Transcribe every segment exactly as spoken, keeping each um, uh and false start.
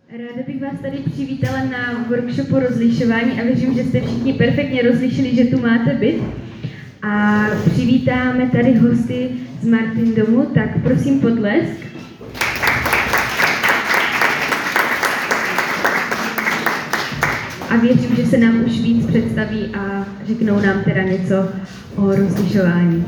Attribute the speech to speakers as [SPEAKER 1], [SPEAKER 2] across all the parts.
[SPEAKER 1] Ráda bych vás tady přivítala na workshopu rozlišování a věřím, že jste všichni perfektně rozlišili, že tu máte byt. A přivítáme tady hosty z Martin domu, tak prosím potlesk. A věřím, že se nám už víc představí a řeknou nám teda něco o rozlišování.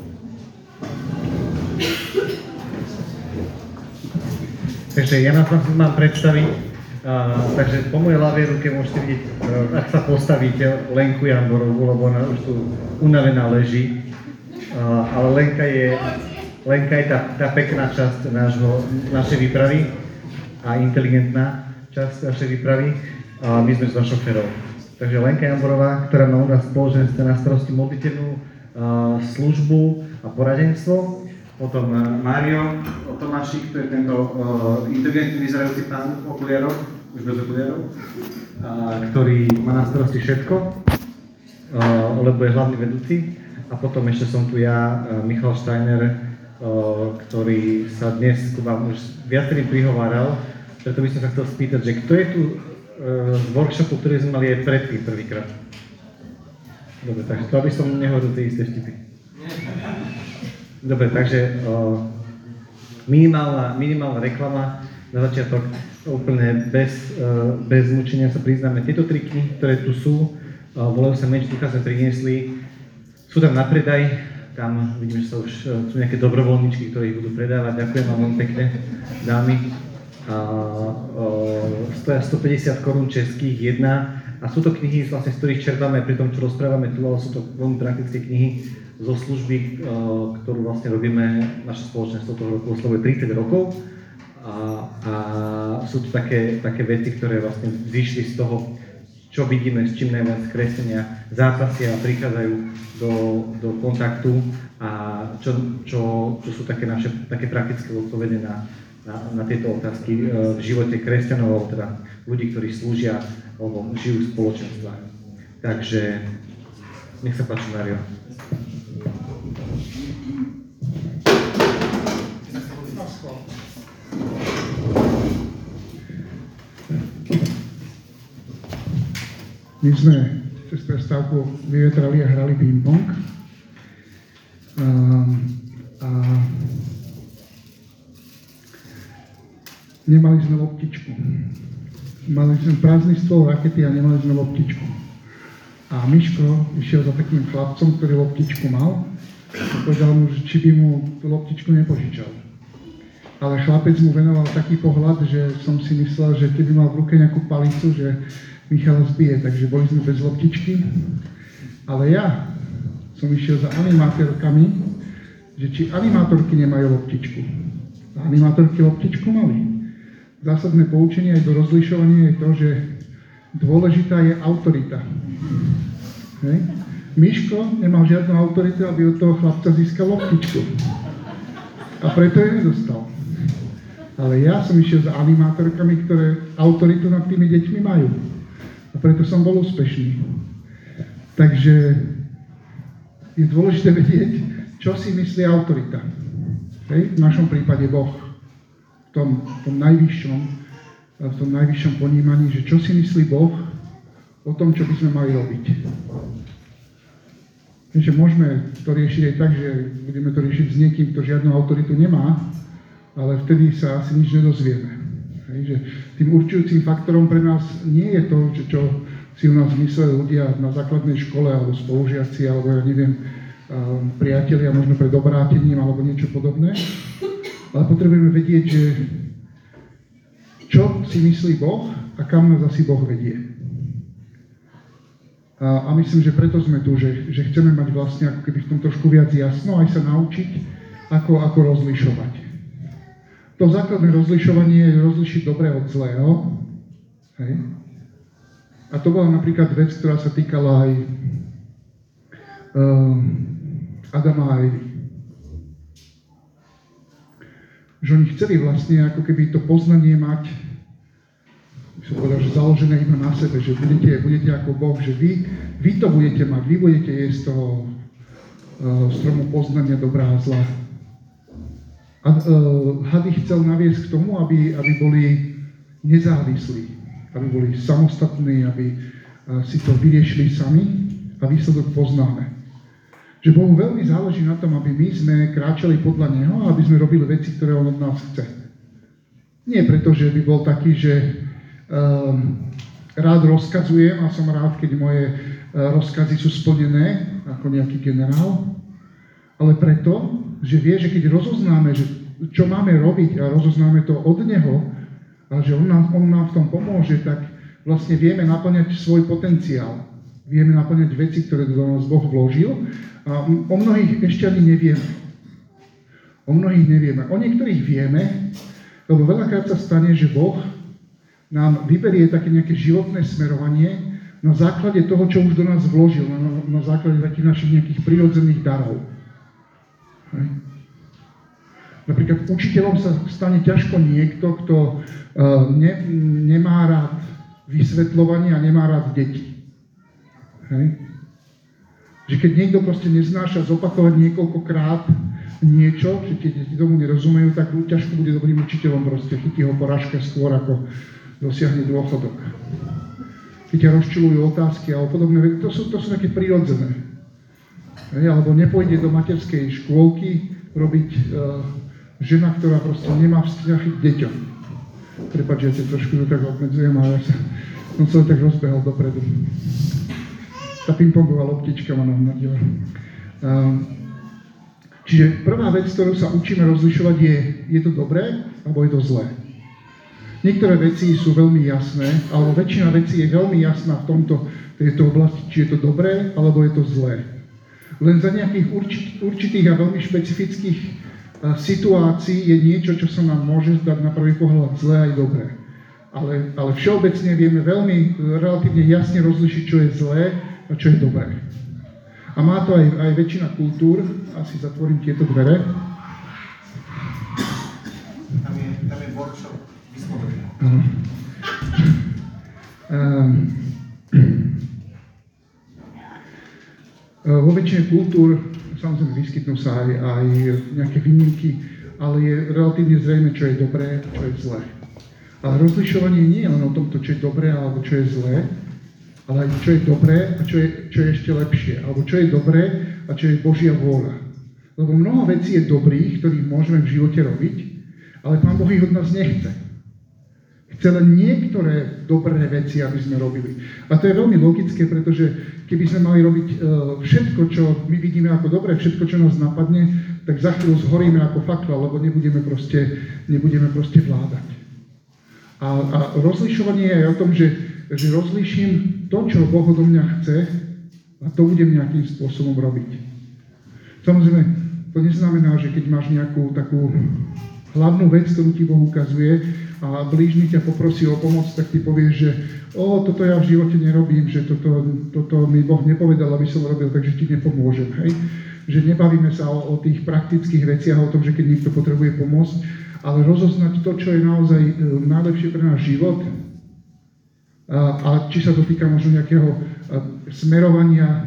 [SPEAKER 2] Takže ja nás mám predstaviť, uh, takže po mojej ľavej ruke môžete vidieť, uh, ak sa postavíte, Lenku Jamborovú, lebo ona už tu unavená leží. Uh, ale Lenka je, Lenka je tá, tá pekná časť nášho, našej výpravy a inteligentná časť našej výpravy. A my sme s našou šoférov. Takže Lenka Jamborová, ktorá má u nás spoločenstve na starosti modlitebnú uh, službu a poradenstvo. Potom Mário Tomášik, to je tento uh, inteligentný vyzerajúci pán v okuliároch, už bez okuliárov, uh, ktorý má na starosti všetko, uh, lebo je hlavný vedúci. A potom ešte som tu ja, uh, Michal Steiner, uh, ktorý sa dnes ku vám už viacerým prihováral. Preto by som sa chcel spýtať, že kto je tu uh, z workshopu, ktorý sme mali aj predtým prvýkrát? Dobre, takže to aby som nehovoril tie isté vtipy. Dobre, takže o, minimálna, minimálna reklama na začiatok, úplne bez, o, bez mučenia sa priznáme. Tieto tri knihy, ktoré tu sú, o, volajú sa Meč ducha, sme priniesli, sú tam na predaj, tam vidím, že sa už sú nejaké dobrovoľničky, ktoré ich budú predávať. Ďakujem vám veľmi pekne, dámy. A, o, stoja stopäťdesiat korún českých, jedna. A sú to knihy, vlastne, z ktorých čerpáme pri tom, čo rozprávame tu, ale sú to veľmi praktické knihy zo služby, ktorú vlastne robíme, naše spoločenstvo toho roku oslavuje tridsať rokov. A, a sú to také, také veci, ktoré vlastne vyšli z toho, čo vidíme, s čím najviac kresťania zápasia a prichádzajú do, do kontaktu a čo, čo, čo sú také naše také praktické odpovede na, na, na tieto otázky v živote kresťanov, alebo teda ľudí, ktorí slúžia alebo žijú v spoločenstvách. Takže nech sa páči, Mário.
[SPEAKER 3] My sme cez prestávku vyvetrali a hrali ping-pong. A, a nemali sme loptičku. Mali sme prázdny stôl, rakety a nemali sme loptičku. A Miško išiel za takým chlapcom, ktorý loptičku mal a povedal mu, že či by mu tú loptičku nepožičal. Ale chlapec mu venoval taký pohľad, že som si myslel, že keby mal v ruke nejakú palicu, že Michala zbije, takže boli sme bez loptičky. Ale ja som išiel za animátorkami, že či animátorky nemajú loptičku. A animátorky loptičku mali. Zásadné poučenie aj do rozlišovania je to, že dôležitá je autorita. Hej. Miško nemal žiadnu autoritu, aby od toho chlapca získal loptičku. A preto ju nedostal. Ale ja som išiel za animátorkami, ktoré autoritu nad tými deťmi majú. A preto som bol úspešný. Takže je dôležité vedieť, čo si myslí autorita. Hej? V našom prípade Boh. V tom, v tom najvyššom, v tom najvyššom ponímaní, že čo si myslí Boh o tom, čo by sme mali robiť. Takže môžeme to riešiť aj tak, že budeme to riešiť s niekým, kto žiadnu autoritu nemá, ale vtedy sa asi nič nedozvieme. Hej, že tým určujúcim faktorom pre nás nie je to, že čo si u nás mysleli ľudia na základnej škole, alebo spolužiaci, alebo ja neviem, priatelia, možno pred obrátením, alebo niečo podobné. Ale potrebujeme vedieť, že čo si myslí Boh a kam nás asi Boh vedie. A, a myslím, že preto sme tu, že, že chceme mať vlastne ako keby v tom trošku viac jasno, aj sa naučiť, ako, ako rozlišovať. To základné rozlišovanie je rozlišiť dobré od zlého. Hej. A to bola napríklad vec, ktorá sa týkala aj uh, Adama a Evy. Že oni chceli vlastne ako keby to poznanie mať, som povedal, že založené iba na sebe, že budete, budete ako Boh, že vy, vy to budete mať, vy budete jesť z toho uh, stromu poznania dobrá a zla. A uh, had ich chcel naviesť k tomu, aby, aby boli nezávislí, aby boli samostatní, aby si to vyriešili sami a výsledok poznáme. Že Bohu veľmi záleží na tom, aby my sme kráčali podľa Neho a aby sme robili veci, ktoré On od nás chce. Nie preto, že by bol taký, že um, rád rozkazujem a som rád, keď moje uh, rozkazy sú splnené ako nejaký generál, ale preto, že vie, že keď rozoznáme, že čo máme robiť a rozoznáme to od Neho a že On nám, on nám v tom pomôže, tak vlastne vieme naplňať svoj potenciál. Vieme naplňať veci, ktoré do nás Boh vložil a o mnohých ešte ani nevieme. O mnohých nevieme. O niektorých vieme, lebo veľakrát sa stane, že Boh nám vyberie také nejaké životné smerovanie na základe toho, čo už do nás vložil, na, na základe takých našich nejakých prirodzených darov. Hej. Napríklad učiteľom sa stane ťažko niekto, kto uh, ne, nemá rád vysvetľovanie a nemá rád deti. Hej. Že keď niekto proste neznáša zopakovať niekoľkokrát niečo, že keď deti tomu nerozumejú, tak ťažko bude dobrým učiteľom, proste chytí ho porážka skôr, ako dosiahne dôchodok. Keď ťa rozčuľujú otázky a podobné, to sú, to sú také prirodzené. Hej. Alebo nepôjde do materskej škôlky robiť uh, žena, ktorá proste nemá vzťah k deťom. Prepáč, ja ťa trošku tak obmedzujem, ale ja sa, som sa tak rozbehol dopredu. Tá pingpongová loptička ma nahmadila. Um, čiže prvá vec, ktorú sa učíme rozlišovať je, je to dobré, alebo je to zlé. Niektoré veci sú veľmi jasné, alebo väčšina vecí je veľmi jasná v tomto, tejto oblasti, či je to dobré, alebo je to zlé. Len za nejakých určit, určitých a veľmi špecifických uh, situácií je niečo, čo sa nám môže zdať na prvý pohľad zlé aj dobré. Ale, ale všeobecne vieme veľmi relatívne jasne rozlišiť, čo je zlé a čo je dobré. A má to aj, aj väčšina kultúr. Asi zatvorím tieto dvere.
[SPEAKER 2] Tam je, tam je workshop vyslovenia.
[SPEAKER 3] Áno. Um, vo väčšine kultúr samozrejme vyskytnú sa aj, aj nejaké výnimky, ale je relatívne zrejme, čo je dobré a čo je zlé. Ale rozlišovanie nie je len o tomto, čo je dobré alebo čo je zlé, ale aj čo je dobré a čo je, čo je ešte lepšie, alebo čo je dobré a čo je Božia vôľa. Lebo mnoho vecí je dobrých, ktorých môžeme v živote robiť, ale Pán Boh ich od nás nechce. Chce len niektoré dobré veci, aby sme robili. A to je veľmi logické, pretože keby sme mali robiť uh, všetko, čo my vidíme ako dobré, všetko, čo nás napadne, tak za chvíľu zhoríme ako fakla, lebo nebudeme proste, nebudeme proste vládať. A, a rozlišovanie je o tom, že, že rozliším to, čo Boh odo mňa chce a to budem nejakým spôsobom robiť. Samozrejme, to neznamená, že keď máš nejakú takú hlavnú vec, ktorú ti Boh ukazuje a blížny ťa poprosí o pomoc, tak ty povieš, že o, toto ja v živote nerobím, že toto, toto mi Boh nepovedal, aby som robil, takže ti nepomôžem. Hej? Že nebavíme sa o, o tých praktických veciach, o tom, že keď niekto potrebuje pomôcť, ale rozoznať to, čo je naozaj e, najlepšie pre náš život a, a či sa to týka možno nejakého e, smerovania, e,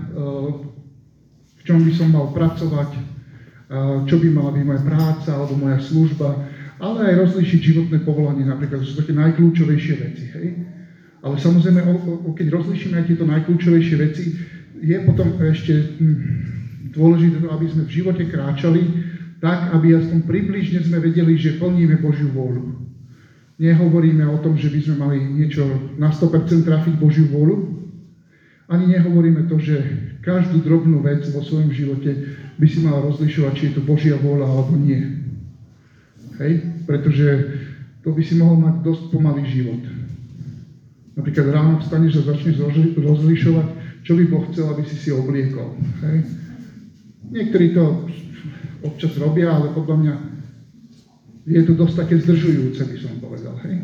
[SPEAKER 3] v čom by som mal pracovať, e, čo by mala byť moja práca alebo moja služba, ale aj rozlíšiť životné povolanie, napríklad, to sú také najkľúčovejšie veci. Hej? Ale samozrejme, o, o, keď rozlíšime aj tieto najkľúčovejšie veci, je potom ešte hm, dôležité, aby sme v živote kráčali tak, aby aspoň približne sme vedeli, že plníme Božiu vôľu. Nehovoríme o tom, že by sme mali niečo na sto percent trafiť Božiu vôľu, ani nehovoríme to, že každú drobnú vec vo svojom živote by si mal rozlišovať, či je to Božia vôľa alebo nie. Hej? Pretože to by si mohol mať dosť pomalý život. Napríklad ráno vstaneš a začneš rozlišovať, čo by Boh chcel, aby si si obliekol. Hej? Niektorí to občas robia, ale podľa mňa je to dosť také zdržujúce, by som povedal. Hej?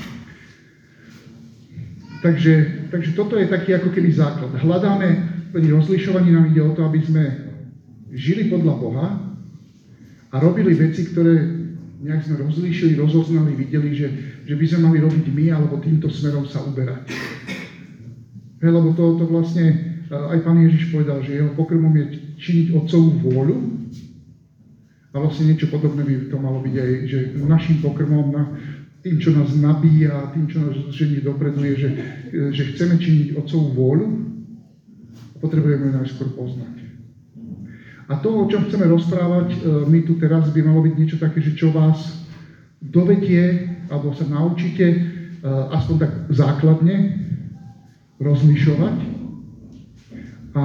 [SPEAKER 3] Takže, takže toto je taký ako keby základ. Hľadáme, pri rozlišovaní nám ide o to, aby sme žili podľa Boha a robili veci, ktoré nejak sme rozlíšili, rozoznali, videli, že, že by sme mali robiť my, alebo týmto smerom sa uberať. Hej, lebo to, to vlastne aj Pán Ježiš povedal, že jeho pokrmom je činiť Otcovú vôľu. A vlastne niečo podobné by to malo byť aj, že našim pokrmom, na, tým, čo nás nabíja, tým, čo nás žení dopredu, je, že, že chceme činiť Otcovú vôľu, potrebujeme ju najskôr poznať. A to, o čom chceme rozprávať my tu teraz, by malo byť niečo také, že čo vás dovedie, alebo sa naučíte aspoň tak základne rozlišovať a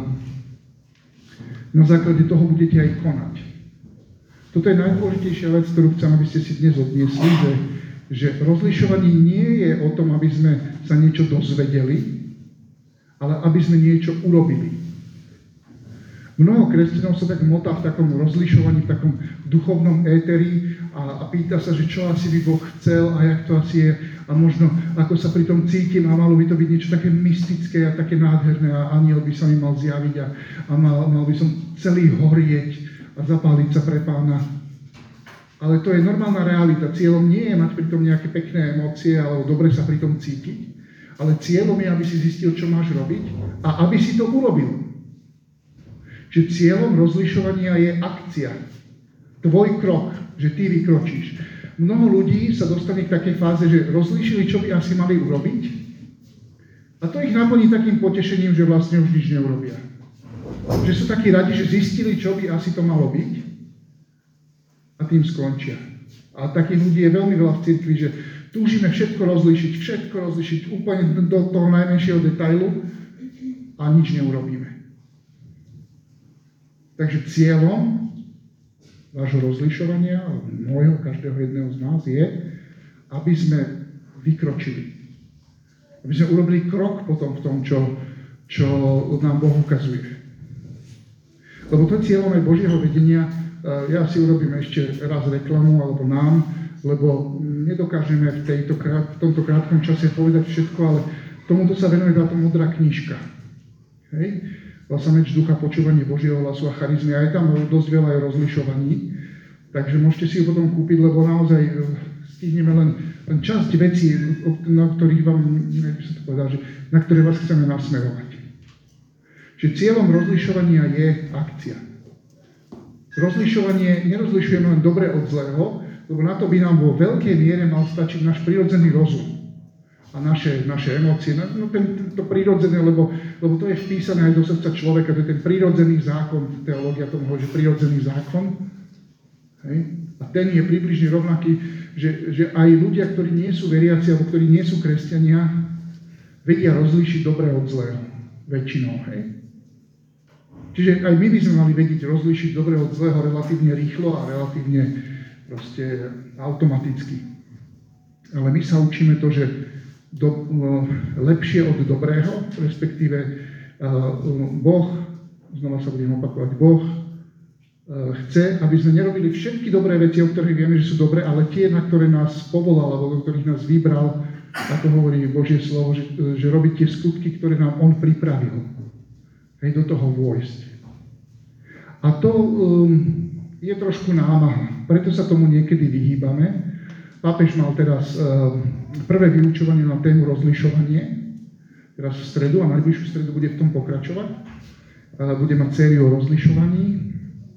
[SPEAKER 3] na základe toho budete aj konať. Toto je najdôležitejšia vec, ktorú chcem, aby ste si dnes odniesli, že, že rozlišovanie nie je o tom, aby sme sa niečo dozvedeli, ale aby sme niečo urobili. Mnoho kresťanov sa tak motá v takom rozlišovaní, v takom duchovnom éteri a, a pýta sa, že čo asi by Boh chcel a jak to asi je a možno ako sa pri tom cítim a malo by to byť niečo také mystické a také nádherné a aniel by sa mi mal zjaviť a, a mal, mal by som celý horieť a zapáliť sa pre Pána. Ale to je normálna realita. Cieľom nie je mať pri tom nejaké pekné emócie alebo dobre sa pri tom cítiť, ale cieľom je, aby si zistil, čo máš robiť a aby si to urobil. Že cieľom rozlišovania je akcia. Tvoj krok, že ty vykročíš. Mnoho ľudí sa dostane k takej fáze, že rozlíšili, čo by asi mali urobiť a to ich naplní takým potešením, že vlastne už nič neurobia. Že sú takí radi, že zistili, čo by asi to malo byť a tým skončia. A takých ľudí je veľmi veľa v cirkvi, že túžime všetko rozlíšiť, všetko rozlíšiť úplne do toho najmenšieho detailu a nič neurobíme. Takže cieľom vášho rozlišovania, môjho, každého jedného z nás je, aby sme vykročili. Aby sme urobili krok potom v tom, čo, čo nám Boh ukazuje. Lebo to je cieľom aj Božieho vedenia. Ja si urobím ešte raz reklamu, alebo nám, lebo nedokážeme v, tejto, v tomto krátkom čase povedať všetko, ale tomuto sa venuje táto modrá knižka. Hej? Vlastne meč ducha, počúvanie Božieho hlasu a charizmy. A je tam dosť veľa aj rozlišovaní. Takže môžete si ju potom kúpiť, lebo naozaj stihneme len, len časť vecí, na ktorých vám, neviem, som to povedal, že, na ktoré vás chceme nasmerovať. Čiže cieľom rozlišovania je akcia. Rozlišovanie, nerozlišujeme len dobre od zlého, lebo na to by nám vo veľkej miere mal stačiť náš prirodzený rozum a naše, naše emócie. No ten, to prirodzené, lebo, lebo to je vpísané aj do srdca človeka, to je ten prirodzený zákon, teológia tomu hovorí, že prirodzený zákon. Hej? A ten je približne rovnaký, že, že aj ľudia, ktorí nie sú veriaci, alebo ktorí nie sú kresťania, vedia rozlíšiť dobre od zlého. Väčšinou, hej? Čiže aj my by sme mali vedieť rozlíšiť dobre od zlého relatívne rýchlo a relatívne proste automaticky. Ale my sa učíme to, že do, lepšie od dobrého, respektíve Boh, znova sa budem opakovať, Boh chce, aby sme nerobili všetky dobré veci, o ktorých vieme, že sú dobré, ale tie, na ktoré nás povolal, alebo do ktorých nás vybral, ako hovorí Božie slovo, že, že robiť tie skutky, ktoré nám On pripravil. Hej, do toho vojsť. A to um, je trošku námaha, preto sa tomu niekedy vyhýbame. Pápež mal teraz um, prvé vyučovanie na tému rozlišovanie, teraz v stredu a najbližšiu stredu bude v tom pokračovať. Uh, bude mať sériu o rozlišovaní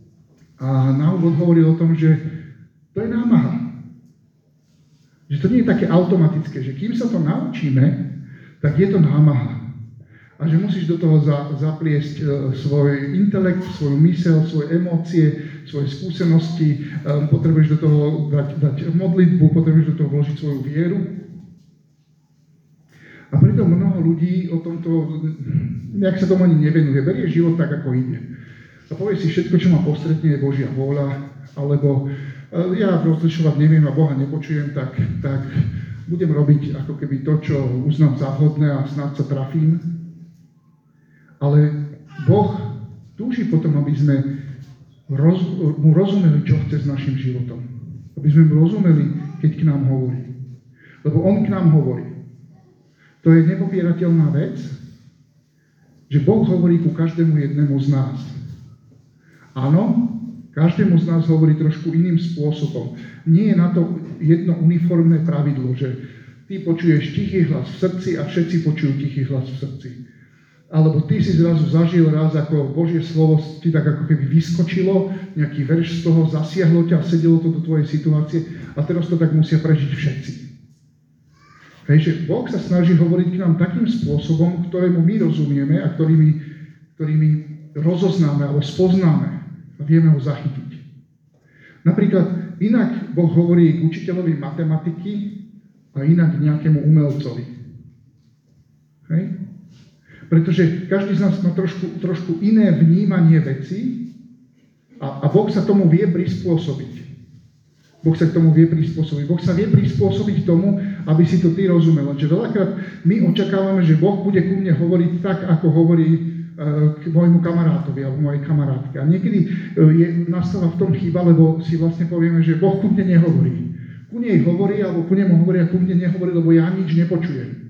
[SPEAKER 3] a na úvod hovorí o tom, že to je námaha. Že to nie je také automatické, že kým sa to naučíme, tak je to námaha. A že musíš do toho za, zapliesť e, svoj intelekt, svoju myseľ, svoje emócie, svoje skúsenosti, e, potrebuješ do toho dať, dať modlitbu, potrebuješ do toho vložiť svoju vieru. A preto mnoho ľudí o tomto, nejak sa tomu ani nevenuje, berie život tak, ako ide. A povie si, všetko, čo ma postretne, je Božia vôľa, alebo e, ja rozlišovať neviem a Boha nepočujem, tak, tak budem robiť ako keby to, čo uznám za vhodné a snáď sa trafím. Ale Boh túži potom, aby sme roz, mu rozumeli, čo chce s našim životom. Aby sme mu rozumeli, keď k nám hovorí. Lebo on k nám hovorí. To je nepopierateľná vec, že Boh hovorí ku každému jednému z nás. Áno, každému z nás hovorí trošku iným spôsobom. Nie je na to jedno uniformné pravidlo, že ty počuješ tichý hlas v srdci a všetci počujú tichý hlas v srdci. Alebo ty si zrazu zažil raz, ako Božie slovo ti tak ako keby vyskočilo, nejaký verš z toho, zasiahlo ťa, sedelo to do tvojej situácie a a teraz to tak musia prežiť všetci. Hej, že Boh sa snaží hovoriť k nám takým spôsobom, ktorému my rozumieme a ktorými, ktorými rozoznáme alebo spoznáme a vieme ho zachytiť. Napríklad inak Boh hovorí k učiteľovi matematiky a inak k nejakému umelcovi. Hej? Pretože každý z nás má trošku, trošku iné vnímanie vecí a, a Boh sa tomu vie prispôsobiť. Boh sa k tomu vie prispôsobiť. Boh sa vie prispôsobiť tomu, aby si to ty rozumel. Lenže veľakrát my očakávame, že Boh bude ku mne hovoriť tak, ako hovorí k môjmu kamarátovi alebo mojej kamarátke. A niekedy je, nastáva v tom chyba, lebo si vlastne povieme, že Boh ku mne nehovorí. Ku nej hovorí, alebo ku nemu hovorí a ku mne nehovorí, lebo ja nič nepočujem.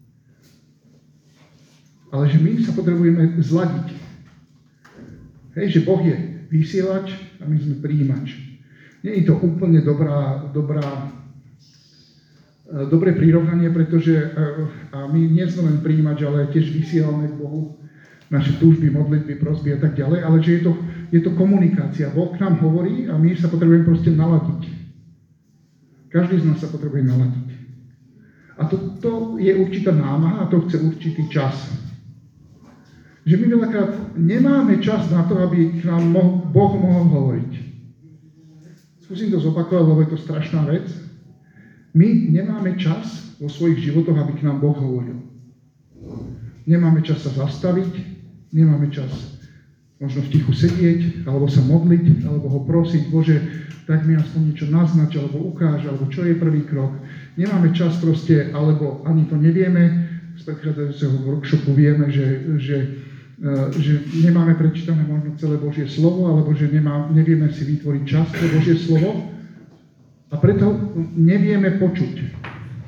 [SPEAKER 3] Ale že my sa potrebujeme zladiť. Hej, že Boh je vysielač a my sme prijímač. Nie je to úplne dobrá, dobrá, dobré prirovnanie, pretože a my nie sme len prijímač, ale tiež vysielame k Bohu naše túžby, modlitby, prosby a tak ďalej, ale že je to, je to komunikácia. Boh k nám hovorí a my sa potrebujeme proste naladiť. Každý z nás sa potrebuje naladiť. A to, to je určitá námaha a to chce určitý čas. Že my veľakrát nemáme čas na to, aby k nám mo- Boh mohol hovoriť. Skúsim to zopakovať, lebo je to strašná vec. My nemáme čas vo svojich životoch, aby k nám Boh hovoril. Nemáme čas sa zastaviť, nemáme čas možno v tichu sedieť, alebo sa modliť, alebo ho prosiť, Bože, tak mi aspoň niečo naznač, alebo ukáž, alebo čo je prvý krok. Nemáme čas proste, alebo ani to nevieme. Z predchádzajúceho workshopu vieme, že, že, že nemáme prečítané možno celé Božie slovo, alebo že nemá, nevieme si vytvoriť čas pre Božie slovo a preto nevieme počuť.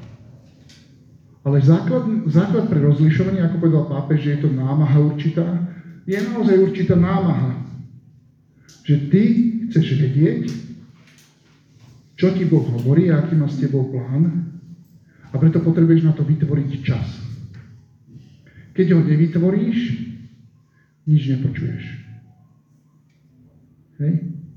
[SPEAKER 3] Ale základ, základ pre rozlišovanie, ako povedal pápež, že je to námaha určitá, je naozaj určitá námaha. Že ty chceš vedieť, čo ti Boh hovorí a aký má s tebou plán a preto potrebuješ na to vytvoriť čas. Keď ho nevytvoríš, nič nepočuješ. Hej?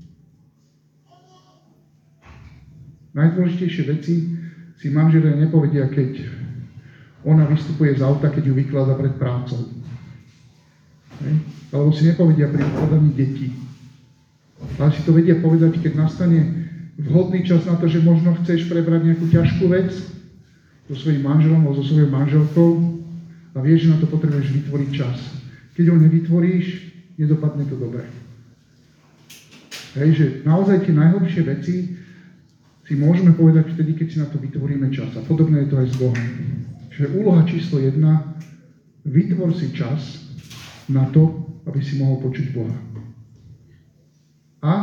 [SPEAKER 3] Najdôležitejšie veci si manželia nepovedia, keď ona vystupuje z auta, keď ju vyklada pred prácou. Hej? Alebo si nepovedia pri ukladaní detí. Ale si to vedia povedať, keď nastane vhodný čas na to, že možno chceš prebrať nejakú ťažkú vec so svojím manželom alebo so svojou manželkou a vieš, že na to potrebuješ vytvoriť čas. Keď ho nevytvoríš, nedopadne to dobre. Hej, že naozaj tie najhlbšie veci si môžeme povedať vtedy, keď si na to vytvoríme čas. A podobné je to aj s Bohom. Čiže úloha číslo jedna, vytvor si čas na to, aby si mohol počuť Boha. A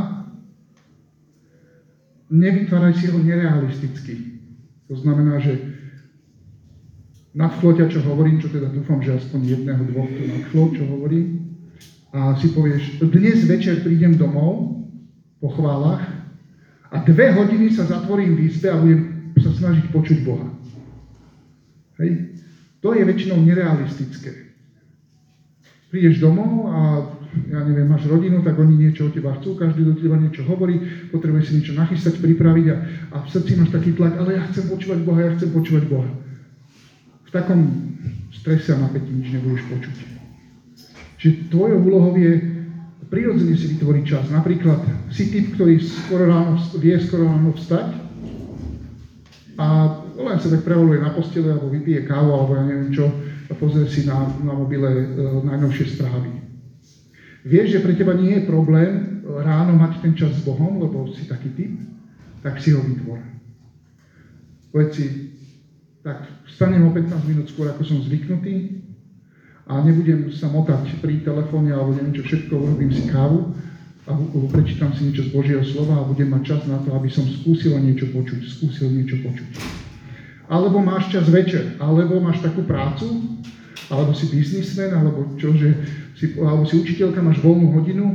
[SPEAKER 3] nevytváraj si ho nerealisticky. To znamená, že nadchlo ťa, čo hovorím, čo teda dúfam, že aspoň jedného, dvoch tu nadchlo, čo hovorím, a si povieš, dnes večer prídem domov po chválach a dve hodiny sa zatvorím v izbe a budem sa snažiť počuť Boha. Hej. To je väčšinou nerealistické. Prídeš domov a ja neviem, máš rodinu, tak oni niečo od teba chcú, každý do teba niečo hovorí, potrebuješ si niečo nachystať, pripraviť a, a v srdci máš taký tlak, ale ja chcem počúvať Boha, ja chcem počúvať Boha. V takom strese a napätí nič nebudeš počuť. Čiže tvojou úlohou je prirodzene si vytvoriť čas. Napríklad si typ, ktorý skoro ráno, vie skoro ráno vstať a len sa tak prevaluje na postele, alebo vypije kávu, alebo ja neviem čo, a pozrie si na, na mobile e, najnovšie správy. Vieš, že pre teba nie je problém ráno mať ten čas s Bohom, lebo si taký typ, tak si ho vytvor. Povedz si, tak vstanem o pätnásť minút skôr, ako som zvyknutý a nebudem sa motať pri telefóne alebo neviem čo všetko, urobím si kávu a prečítam si niečo z Božieho slova a budem mať čas na to, aby som skúsil niečo počuť, skúsil niečo počuť. Alebo máš čas večer, alebo máš takú prácu, alebo si biznismen, alebo čo, že si, alebo si učiteľka, máš voľnú hodinu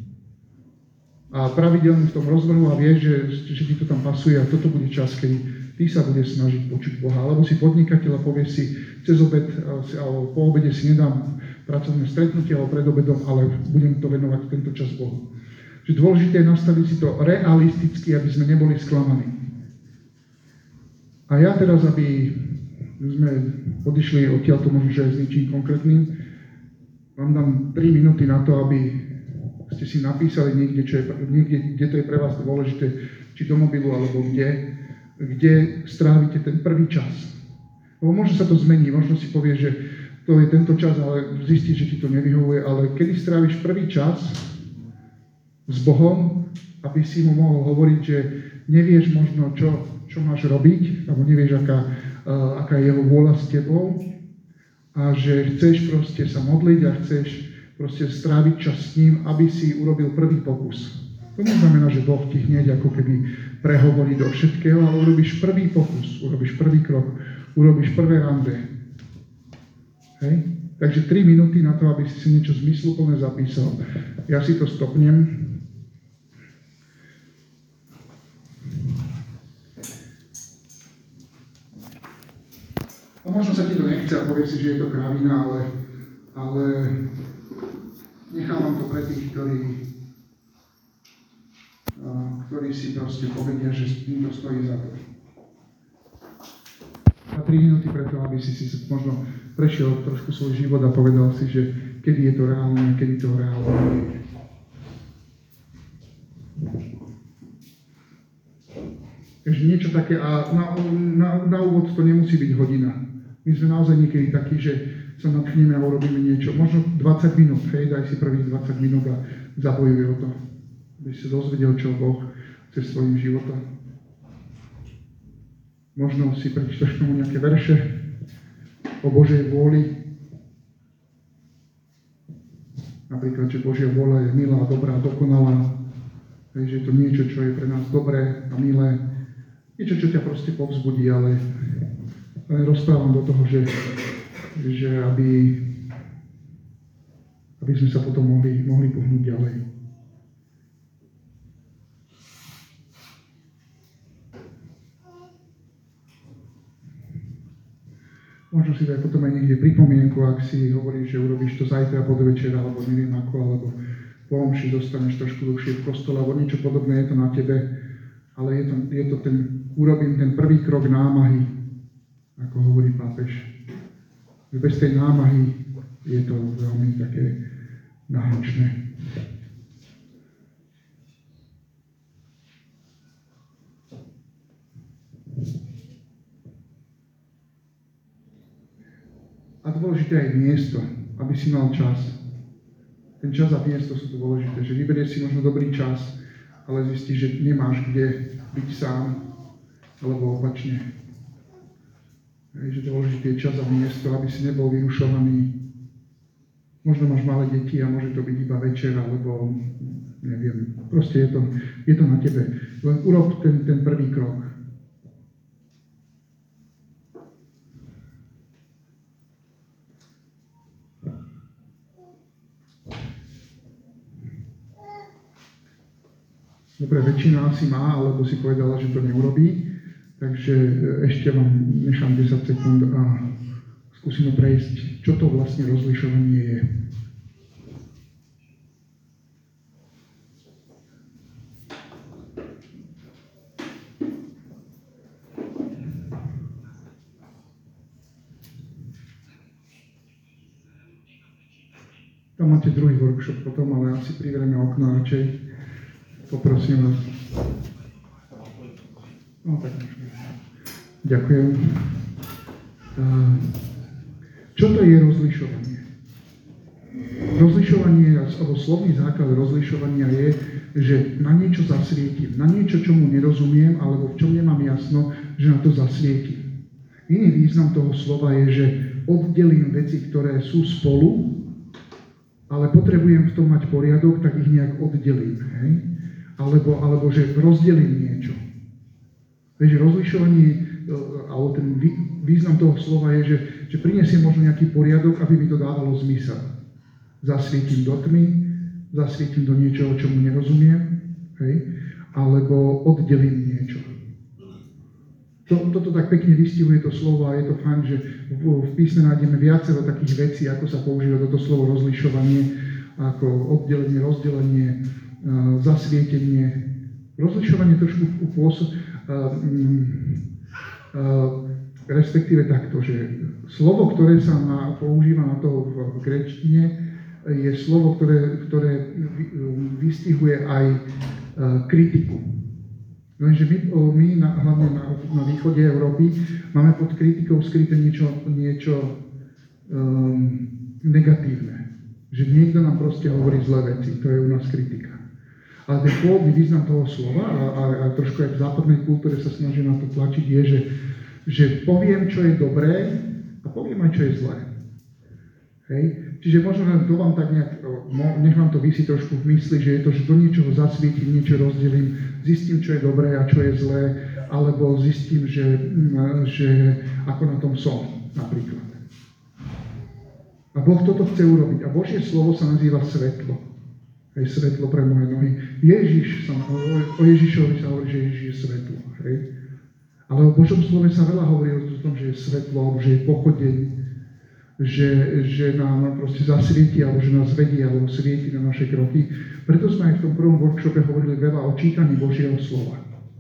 [SPEAKER 3] a pravidelne v tom rozvrhu a vieš, že, že ti to tam pasuje a toto bude čas, keď ty sa budeš snažiť počuť Boha. Alebo si podnikateľ a povieš si cez obed, alebo po obede si nedám pracovné stretnutie, alebo pred obedom, ale budem to venovať tento čas Bohu. Čiže dôležité je nastaviť si to realisticky, aby sme neboli sklamaní. A ja teraz, aby sme odišli odtiaľ to možno, že aj s ničím konkrétnym, vám dám tri minúty na to, aby ste si napísali niekde, čo je, niekde, kde to je pre vás dôležité, či do mobilu, alebo kde, kde strávite ten prvý čas. Lebo možno sa to zmení, možno si povie, že to je tento čas, ale zistíš, že ti to nevyhovuje, ale kedy stráviš prvý čas s Bohom, aby si mu mohol hovoriť, že nevieš možno, čo, čo máš robiť, alebo nevieš, aká, uh, aká je jeho vôľa s tebou, a že chceš proste sa modliť a chceš proste stráviť čas s ním, aby si urobil prvý pokus. To neznamená, že Boh ti hneď ako keby prehovorí do všetkého, ale urobíš prvý pokus, urobíš prvý krok, urobíš prvé rande. Hej? Takže tri minúty na to, aby si si niečo zmysluplné zapísal. Ja si to stopnem. A možno sa ti to nechce a povie si, že je to kravina, ale, ale nechávam to pre tých, ktorí, ktorí si proste povedia, že im to stojí za to. A tri minúty preto, aby si si možno prešiel trošku svoj život a povedal si, že kedy je to reálne a kedy to reálne nie je. Takže niečo také, a na, na, na úvod to nemusí byť hodina. My sme naozaj niekedy takí, že sa natchneme a urobíme niečo. Možno dvadsať minút, hej, daj si prvých dvadsať minút a zabojuj o to. Aby si dozvedel, čo Boh chce svojím životom. Možno si prečítaš tomu nejaké verše o Božej vôli. Napríklad, že Božia vôľa je milá, dobrá, dokonalá. Hej, že je to niečo, čo je pre nás dobré a milé. Niečo, čo ťa proste povzbudí, ale, ale rozprávam do toho, že, že aby, aby sme sa potom mohli, mohli pohnúť ďalej. Možno si daj potom aj niekde pripomienku, ak si hovoríš, že urobíš to zajtra pod večer, alebo neviem ako, alebo po omši dostaneš trošku dlhšie v kostole, alebo niečo podobné, je to na tebe, ale je to, je to ten, urobím ten prvý krok námahy, ako hovorí pápež. Bez tej námahy je to veľmi také náročné. A dôležité aj miesto, aby si mal čas. Ten čas a miesto sú dôležité, že vyberieš si možno dobrý čas, ale zistíš, že nemáš kde byť sám, alebo opačne. Je dôležité čas a miesto, aby si nebol vyrušovaný. Možno máš malé deti a môže to byť iba večer, alebo neviem. Proste je to, je to na tebe. Len urob ten, ten prvý krok. Dobre, väčšina asi má, alebo si povedala, že to neurobí. Takže ešte vám nechám desať sekúnd a skúsime prejsť, čo to vlastne rozlišovanie je. Tam máte druhý workshop potom, ale asi privrieme okno radšej. Poprosím vás. No tak môžeme. Ďakujem. Čo to je rozlišovanie? Rozlišovanie, alebo slovný základ rozlišovania je, že na niečo zasvietim, na niečo, čomu nerozumiem, alebo v čom nemám jasno, že na to zasvietim. Iný význam toho slova je, že oddelím veci, ktoré sú spolu, ale potrebujem v tom mať poriadok, tak ich nejak oddelím. Hej? Alebo, alebo že rozdelím niečo. Takže rozlišovanie, alebo ten význam toho slova je, že, že prinesiem možno nejaký poriadok, aby mi to dávalo zmysel. Zasvietim do tmy, zasvietim do niečoho, čomu nerozumiem, hej? Alebo oddelím niečo. To, toto tak pekne vystihuje to slovo a je to fajn, že v, v písme nájdeme viacero takých vecí, ako sa používa toto slovo rozlišovanie, ako oddelenie, rozdelenie, uh, zasvietenie. Rozlišovanie trošku pôsob, uh, um, respektíve takto, že slovo, ktoré sa na, používa na to v, v gréčtine, je slovo, ktoré, ktoré vystihuje aj kritiku. Lenže my, my na, hlavne na, na východe Európy máme pod kritikou skryté niečo, niečo um, negatívne. Že niekto nám proste hovorí zlé veci, to je u nás kritika. Ale ten pôvodný význam toho slova, a, a, a trošku aj v západnej kultúre sa snaží na to tlačiť, je, že, že poviem, čo je dobré a poviem aj, čo je zlé. Hej? Čiže možno to vám tak nejak, nech vám to visí trošku v mysli, že je to, že do niečoho zasvietim, niečo rozdelím, zistím, čo je dobré a čo je zlé, alebo zistím, že, že ako na tom som, napríklad. A Boh toto chce urobiť. A Božie slovo sa nazýva svetlo. Hej, svetlo pre moje nohy. Ježiš, sa, o Ježišovi sa hovorí, že Ježiš je svetlo. Hej. Ale o Božom slove sa veľa hovorí o tom, že je svetlo, že je pochodeň, že, že nám proste zasvieti, alebo že nás vedie, alebo svieti na naše kroky. Preto sme aj v tom prvom workshope hovorili veľa o čítaní Božieho slova.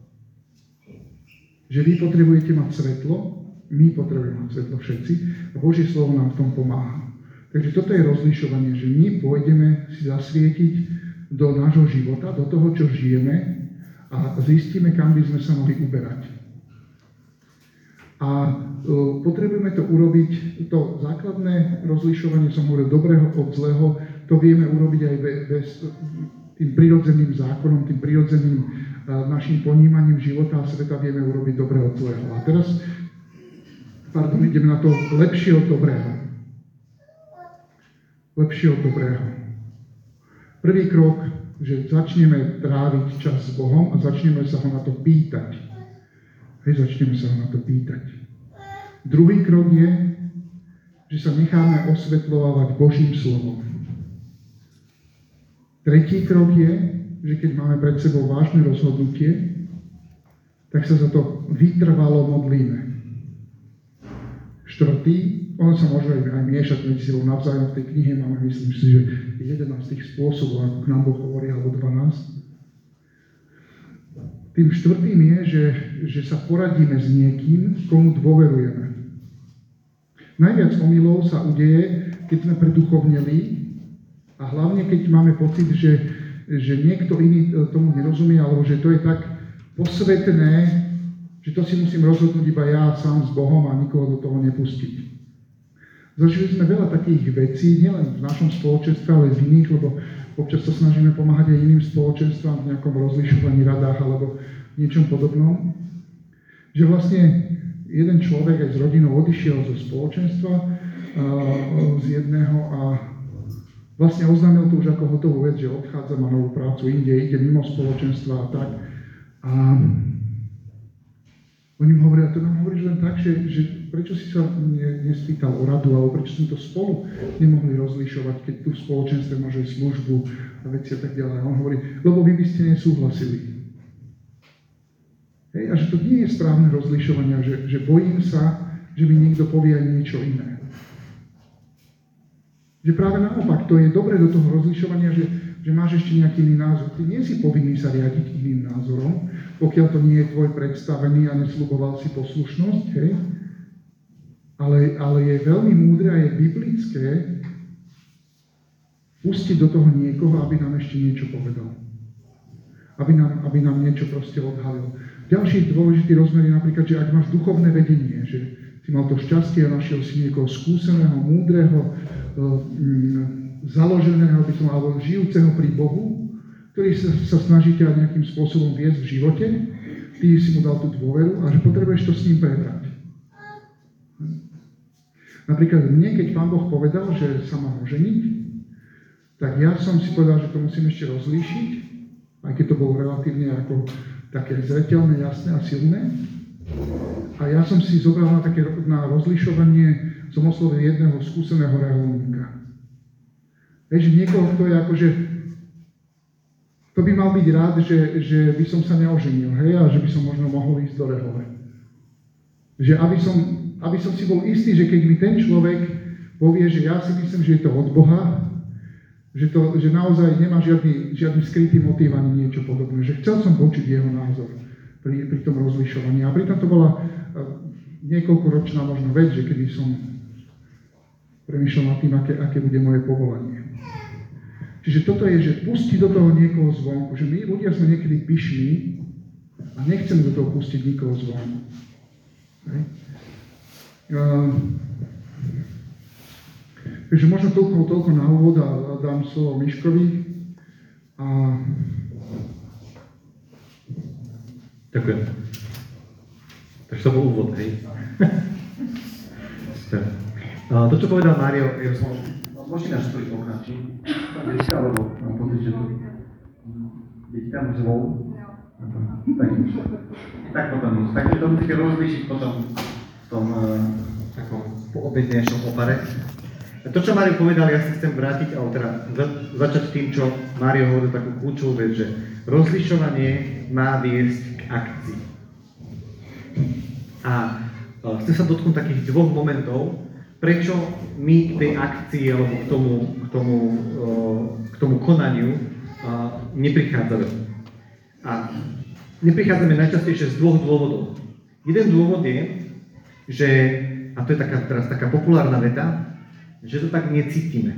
[SPEAKER 3] Že vy potrebujete mať svetlo, my potrebujeme mať svetlo všetci, a Božie slovo nám v tom pomáha. Takže toto je rozlišovanie, že my pôjdeme si zasvietiť do nášho života, do toho, čo žijeme, a zistíme, kam by sme sa mohli uberať. A uh, potrebujeme to urobiť, to základné rozlišovanie, som hovoril, dobrého od zlého, to vieme urobiť aj bez, bez tým prirodzeným zákonom, tým prirodzeným uh, našim ponímaním života a sveta vieme urobiť dobré od zlého. A teraz, pardon, ideme na to lepšie od dobrého. Lepšie od dobrého. Prvý krok, že začneme tráviť čas s Bohom a začneme sa ho na to pýtať. Hej, začneme sa ho na to pýtať. Druhý krok je, že sa necháme osvetľovať Božím slovom. Tretí krok je, že keď máme pred sebou vážne rozhodnutie, tak sa za to vytrvalo modlíme. Štvrtý, ono sa môže aj, aj miešať medzi sebou navzájom. V tej knihe máme, myslím si, že jedenásť tých spôsobov, ako k nám Boh hovorí, alebo dvanásť. Tým štvrtým je, že, že sa poradíme s niekým, komu dôverujeme. Najviac omylov sa udeje, keď sme preduchovneli a hlavne keď máme pocit, že, že niekto iný tomu nerozumie, alebo že to je tak posvetné, že to si musím rozhodnúť iba ja sám s Bohom a nikoho do toho nepustiť. Zažili sme veľa takých vecí, nielen v našom spoločenstve, ale v iných, lebo občas sa snažíme pomáhať aj iným spoločenstvám v nejakom rozlišovaní, radách alebo niečom podobnom. Že vlastne jeden človek aj s rodinou odišiel zo spoločenstva a, z jedného a vlastne oznámil to už ako hotovú vec, že odchádza, má novú prácu inde, ide mimo spoločenstva a tak. A oni mu hovoria, to nám hovoríš len tak, že, že prečo si sa ne, nespýtal o radu, alebo prečo sme to spolu nemohli rozlišovať, keď tu v spoločenstve máš aj službu a veci a tak ďalej. A on hovorí, lebo vy by ste nesúhlasili. Hej, a že to nie je správne rozlišovanie, že, že bojím sa, že mi niekto povie aj niečo iné. Že práve naopak, to je dobre do toho rozlišovania, že, že máš ešte nejaký iný názor. Ty nie si povinný sa riadiť iným názorom, pokiaľ to nie je tvoj predstavený a nesľuboval si poslušnosť, hej? Ale, ale je veľmi múdre a je biblické pustiť do toho niekoho, aby nám ešte niečo povedal. Aby nám, aby nám niečo proste odhalil. Ďalší dôležitý rozmer je napríklad, že ak máš duchovné vedenie, že si mal to šťastie a našiel si niekoho skúseného, múdreho, založeného, by som, alebo žijúceho pri Bohu, ktorý sa, sa snaží ťa nejakým spôsobom viesť v živote, ty si mu dal tú dôveru a že potrebuješ to s ním prebrať. Napríklad mne, keď Pán Boh povedal, že sa mám oženiť, tak ja som si povedal, že to musím ešte rozlíšiť, aj keď to bolo relatívne ako také zreteľné, jasné a silné. A ja som si zobral na také na rozlišovanie, som oslovil jedného skúseného reholníka. Vieš, niekoho, kto je akože, to by mal byť rád, že, že by som sa neoženil, hej, a že by som možno mohol ísť do rehole. Že aby som, aby som si bol istý, že keď mi ten človek povie, že ja si myslím, že je to od Boha, že, to, že naozaj nemá žiadny, žiadny skrytý motív ani niečo podobné. Že chcel som počuť jeho názor pri, pri tom rozlišovaní. A pritom to bola niekoľkoročná možno vec, že kedy som premýšľal nad tým, aké, aké bude moje povolanie. Čiže toto je, že pustiť do toho niekoho zvonku, že my ľudia sme niekedy pyšní a nechceme do toho pustiť nikoho zvonku. Hej. Uh, takže možno toľko, toľko na úvod a, a dám slovo Miškovi. A...
[SPEAKER 2] Ďakujem. Takže to bol úvod, hej. To, čo povedal Mário, je som... Môžete nás storiť okna, či? Tam deťka, alebo mám pocit, že to... Deťka mu zvol? Tak, tak potom nič. Takže to musíte rozlíšiť potom v tom uh, takom poobednejšom opare. To, čo Mário povedal, ja sa chcem vrátiť, alebo teda za, začať tým, čo Mário hovoril takú kľúčovú vec, že rozlišovanie má viesť k akcii. A uh, chcem sa dotknúť takých dvoch momentov, prečo my k tej akcii alebo k tomu, k tomu, uh, k tomu konaniu uh, neprichádzame. A neprichádzame najčastejšie z dvoch dôvodov. Jeden dôvod je, že, a to je taká, teraz taká populárna veta, že to tak necítime.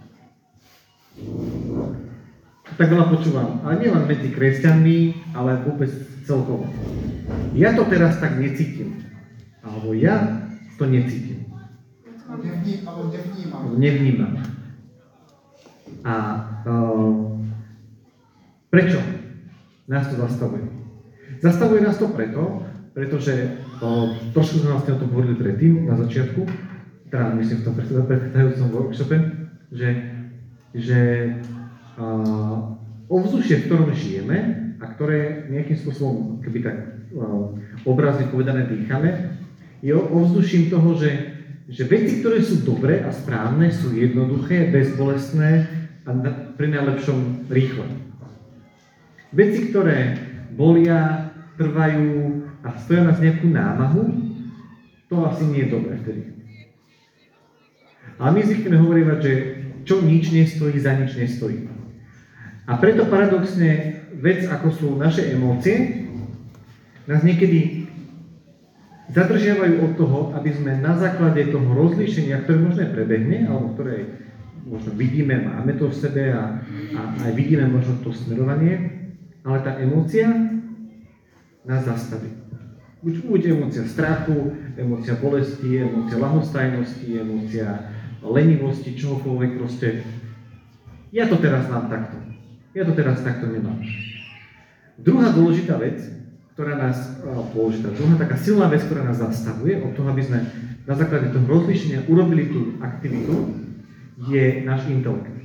[SPEAKER 2] Tak veľa počúvam, ale nielen medzi kresťanmi, ale vôbec celkovo. Ja to teraz tak necítim. Alebo ja to necítim.
[SPEAKER 3] Alebo nevnímam.
[SPEAKER 2] Nevnímam. A uh, prečo nás to zastavuje? Zastavuje nás to preto, pretože uh, trošku sme vlastne o tom hovorili predtým, na začiatku, teda myslím v tom predchádzajúcom workshope, že, že uh, ovzdušie, v ktorom žijeme a ktoré nejakým spôsobom, keby tak uh, obrazne povedané dýchame, je ovzduším toho, že, že veci, ktoré sú dobré a správne, sú jednoduché, bezbolestné a na, pri najlepšom rýchle. Veci, ktoré bolia, trvajú a stoja nás nejakú námahu, to asi nie je dobré vtedy. Ale my zvykneme hovoriť, že čo nič nestojí, za nič nestojí. A preto paradoxne vec, ako sú naše emócie, nás niekedy zadržiavajú od toho, aby sme na základe toho rozlíšenia, ktoré možno prebehne, alebo ktoré možno vidíme, máme to v sebe a, a aj vidíme možno to smerovanie, ale tá emócia nás zastaví. Buď, buď emócia strachu, emócia bolesti, emócia ľahostajnosti, emócia lenivosti, čohokoľvek proste. Ja to teraz mám takto. Ja to teraz takto nemám. Druhá dôležitá vec, ktorá nás, dôležitá, druhá taká silná vec, ktorá nás zastavuje od toho, aby sme na základe toho rozlíšenia urobili tú aktivitu, je náš intelekt.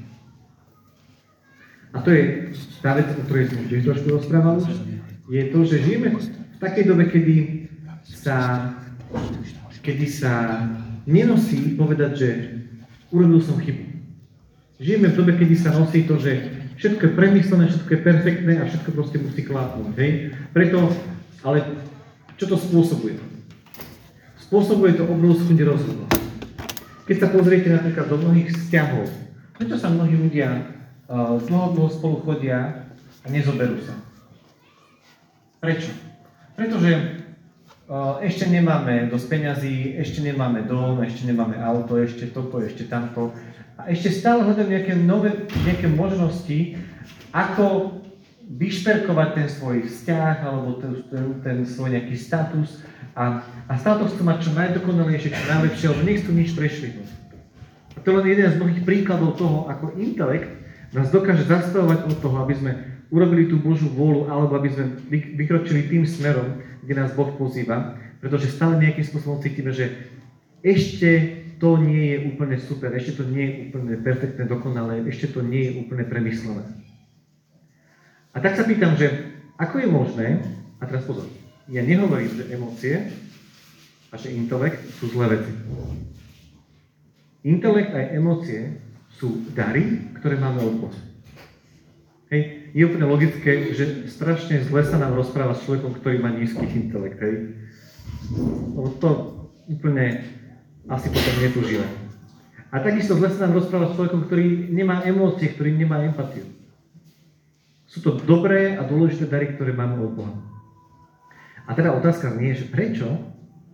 [SPEAKER 2] A to je tá vec, o ktorej sme tiež trošku rozprávali, je to, že žijeme v takej dobe, kedy sa, kedy sa nenosí povedať, že urobil som chybu. Žijeme v dobe, kedy sa nosí to, že všetko je premyslené, všetko je perfektné a všetko proste musí klapnúť, hej? Preto, ale čo to spôsobuje? Spôsobuje to obrovskú nerozhodnosť. Keď sa pozriete napríklad do mnohých vzťahov, prečo sa mnohí ľudia uh, dlho, dlho spolu chodia a nezoberú sa? Prečo? Pretože uh, ešte nemáme dosť peňazí, ešte nemáme dom, ešte nemáme auto, ešte toto, ešte tamto. A ešte stále hľadám nejaké nové, nejaké možnosti, ako vyšperkovať ten svoj vzťah, alebo ten, ten, ten svoj nejaký status a, a stále to chcú mať čo najdokonalejšie, čo najlepšie, alebo nechcú nič prešvihnúť. A to je len jeden z mnohých príkladov toho, ako intelekt nás dokáže zastavovať od toho, aby sme urobili tú Božiu vôľu, alebo aby sme vykročili tým smerom, kde nás Boh pozýva, pretože stále nejakým spôsobom cítime, že ešte to nie je úplne super, ešte to nie je úplne perfektné, dokonalé, ešte to nie je úplne premyslené. A tak sa pýtam, že ako je možné, a teraz pozor, ja nehovorím, že emócie a že intelekt sú zlé veci. Intelekt aj emócie sú dary, ktoré máme od Boha. Hej, je úplne logické, že strašne zle sa nám rozpráva s človekom, ktorý má nízky intelekt, hej. Lebo to úplne asi potom netužíme. A takisto zle sa nám rozpráva s človekom, ktorý nemá emócie, ktorý nemá empatiu. Sú to dobré a dôležité dary, ktoré máme od Boha. A teda otázka nie je, že prečo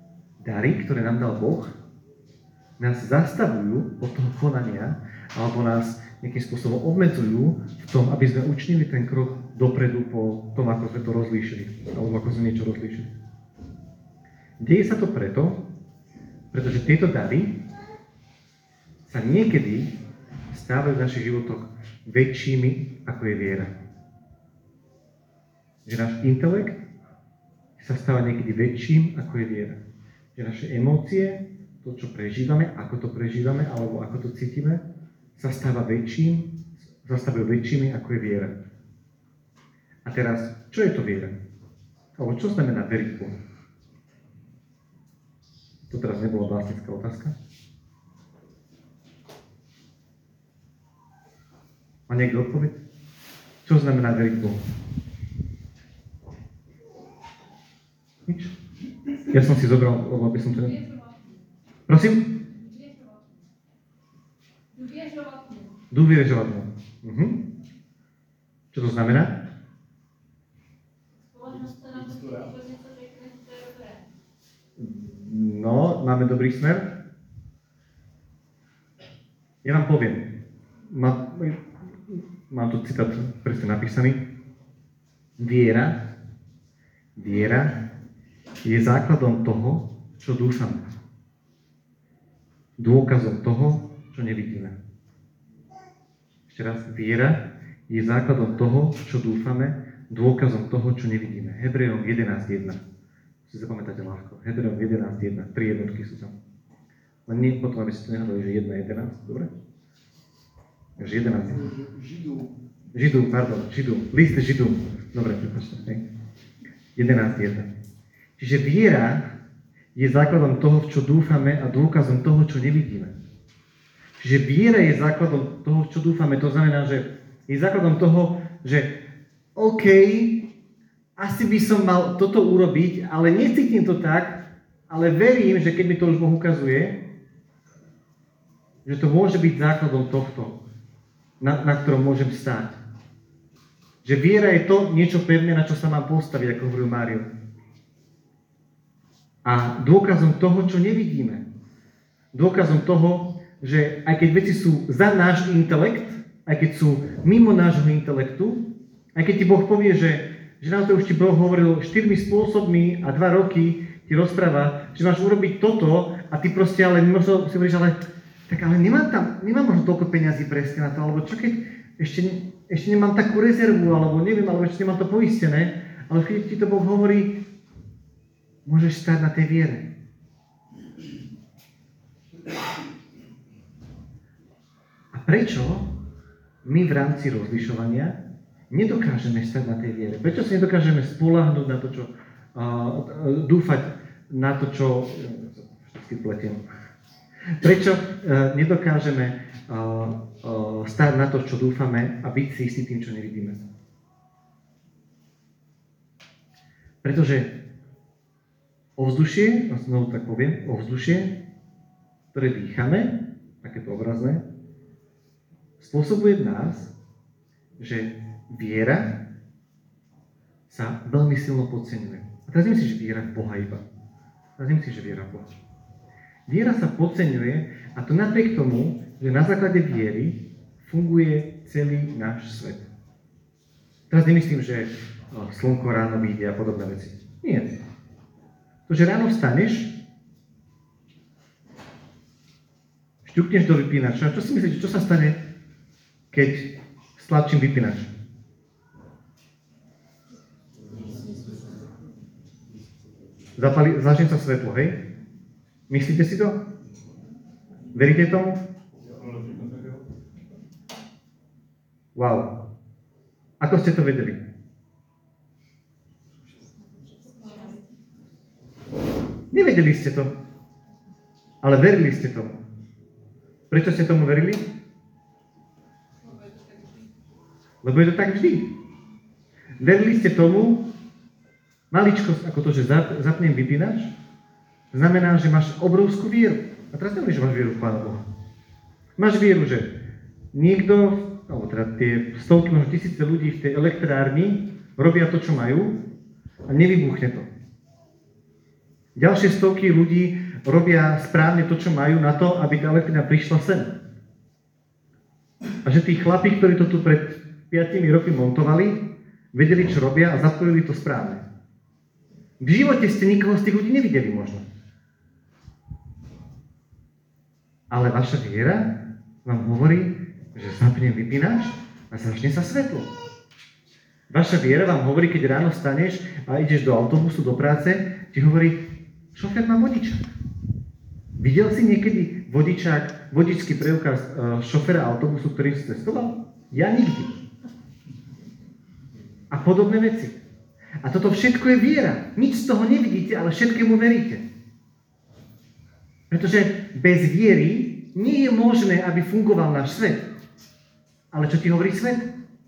[SPEAKER 2] dary, ktoré nám dal Boh, nás zastavujú od toho konania, alebo nás nejakým spôsobom obmedzujú v tom, aby sme učinili ten krok dopredu po tom, ako sme to rozlíšili, alebo ako sme niečo rozlíšili. Deje sa to preto, pretože tieto dary sa niekedy stávajú v našich životoch väčšími, ako je viera. Že náš intelekt sa stáva niekedy väčším, ako je viera. Že naše emócie, to, čo prežívame, ako to prežívame, alebo ako to cítime, sa stáva väčším, sa stávajú väčšími, ako je viera. A teraz, čo je to viera? Alebo čo znamená veriť Bohu? To teraz nebola básnická otázka. Má niekto odpoveď? Čo znamená veriť Bohu? Nič? Ja som si zobral, lebo by som to... Prosím? Dôvieřovať mu. Mhm. Čo to znamená? No, máme dobrý smer. Ja vám poviem. Má, mám tu citát presne napísaný. Viera, viera je základom toho, čo dúfame. Dôkazom toho, čo nevidíme. Ešte raz, viera je základom toho, čo dúfame, dôkazom toho, čo nevidíme. Hebrejom jedenásť jedna. Si zapamätáte ľahko. Hebrejom jedenásť jedna. Tri jednotky sú tam. Len nie potom, aby ste to nehľadali, že jedna jedenásť. Dobre? Takže jedenásť. Židú. Židú, pardon. Židú. List Židú. Dobre, prepáčte. jedenásť jedna. Čiže viera je základom toho, v čo dúfame a dôkazom toho, čo nevidíme. Čiže viera je základom toho, čo dúfame. To znamená, že je základom toho, že OK, asi by som mal toto urobiť, ale necítim to tak, ale verím, že keď mi to už Boh ukazuje, že to môže byť základom tohto, na, na ktorom môžem stáť. Že viera je to niečo pevné, na čo sa mám postaviť, ako hovoril Mário. A dôkazom toho, čo nevidíme. Dôkazom toho, že aj keď veci sú za náš intelekt, aj keď sú mimo nášho intelektu, aj keď ti Boh povie, že, že nám to už ti Boh hovoril štyrmi spôsobmi a dva roky ti rozpráva, že máš urobiť toto a ty proste ale možno si hovoríš, ale tak ale nemám tam, nemám možno toľko peňazí presne na to, alebo čo keď ešte, ešte nemám takú rezervu, alebo neviem, alebo ešte nemám to poistené, ale keď ti to Boh hovorí, môžeš stáť na tej viere. A prečo my v rámci rozlišovania nedokážeme stať na tej viere? Prečo sa nedokážeme spoľahnúť na to, čo uh, dúfať na to, čo všetky pletiem. Prečo uh, nedokážeme uh, uh, stáť na to, čo dúfame a byť si istý tým, čo nevidíme? Pretože ovzdušie, a znovu tak poviem, ovzdušie, ktoré dýchame, takéto obrazné, spôsobuje v nás, že viera sa veľmi silno podceňuje. A teraz nemyslíš, že viera v Boha iba. Teraz nemyslíš, že viera v Boha. Viera sa podceňuje a to napriek tomu, že na základe viery funguje celý náš svet. Teraz nemyslím, že slnko ráno vyjde a podobné veci. Nie. To, že ráno vstaneš, šťukneš do vypínača. Čo si myslíte, čo sa stane, keď stlačím vypínač? Zapali, zlačím sa svetlo, hej? Myslíte si to? Veríte tomu? Wow. Ako ste to vedeli? Nevedeli ste to, ale verili ste tomu. Prečo ste tomu verili? Lebo je to tak vždy. Verili ste tomu, maličkosť ako to, že zapnem vypínač, znamená, že máš obrovskú vieru. A teraz nevieš, že máš vieru v Pána Boha. Máš vieru, že niekto, alebo teda tie stovky, možno tisíce ľudí v tej elektrárni robia to, čo majú a nevybuchne to. Ďalšie stovky ľudí robia správne to, čo majú na to, aby tá elektrina prišla sem. A že tí chlapí, ktorí to tu pred piatimi roky montovali, vedeli, čo robia a zapojili to správne. V živote ste nikoho z tých ľudí nevideli možno. Ale vaša viera vám hovorí, že zapnem vypínač a začne sa svetlo. Vaša viera vám hovorí, keď ráno staneš a ideš do autobusu, do práce, ti hovorí, šofér má vodičák. Videl si niekedy vodičák, vodičský preukaz šoféra autobusu, ktorý si cestoval? Ja nikdy. A podobné veci. A toto všetko je viera. Nič z toho nevidíte, ale všetkému veríte. Pretože bez viery nie je možné, aby fungoval náš svet. Ale čo ti hovorí svet?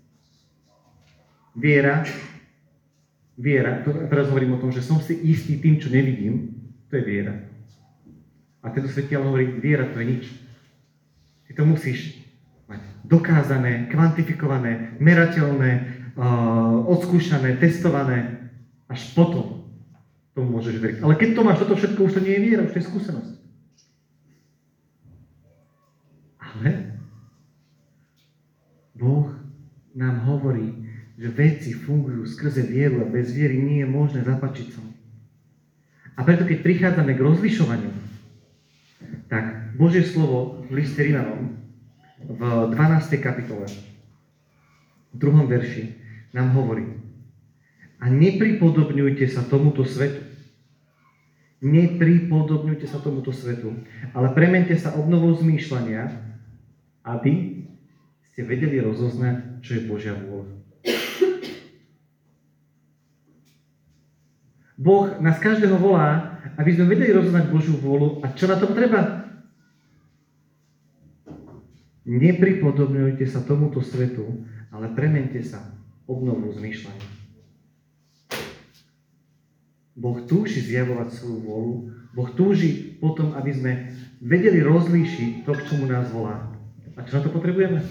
[SPEAKER 2] Viera, viera, teraz hovorím o tom, že som si istý tým, čo nevidím, to je viera. A tento svetiaľ hovorí, viera to je nič. Ty to musíš mať dokázané, kvantifikované, merateľné, uh, odskúšané, testované, až potom tomu môžeš veriť. Ale keď to máš toto všetko, už to nie je viera, už to je skúsenosť. Ale Boh nám hovorí, že veci fungujú skrze vieru a bez viery nie je možné zapáčiť sa. A preto, keď prichádzame k rozlišovaniu, tak Božie slovo v liste Rimanom v dvanástej kapitole, v druhom verši, nám hovorí: a nepripodobňujte sa tomuto svetu. Nepripodobňujte sa tomuto svetu, ale premente sa obnovou zmýšľania, aby ste vedeli rozoznať, čo je Božia vôľa. Boh nás každého volá, aby sme vedeli rozoznať Božiu vôľu. A čo na tom treba? Nepripodobňujte sa tomuto svetu, ale premente sa obnovou zmýšľania. Boh túži zjavovať svoju vôľu. Boh túži potom, aby sme vedeli rozlíšiť to, k čomu nás volá. A čo na to potrebujeme?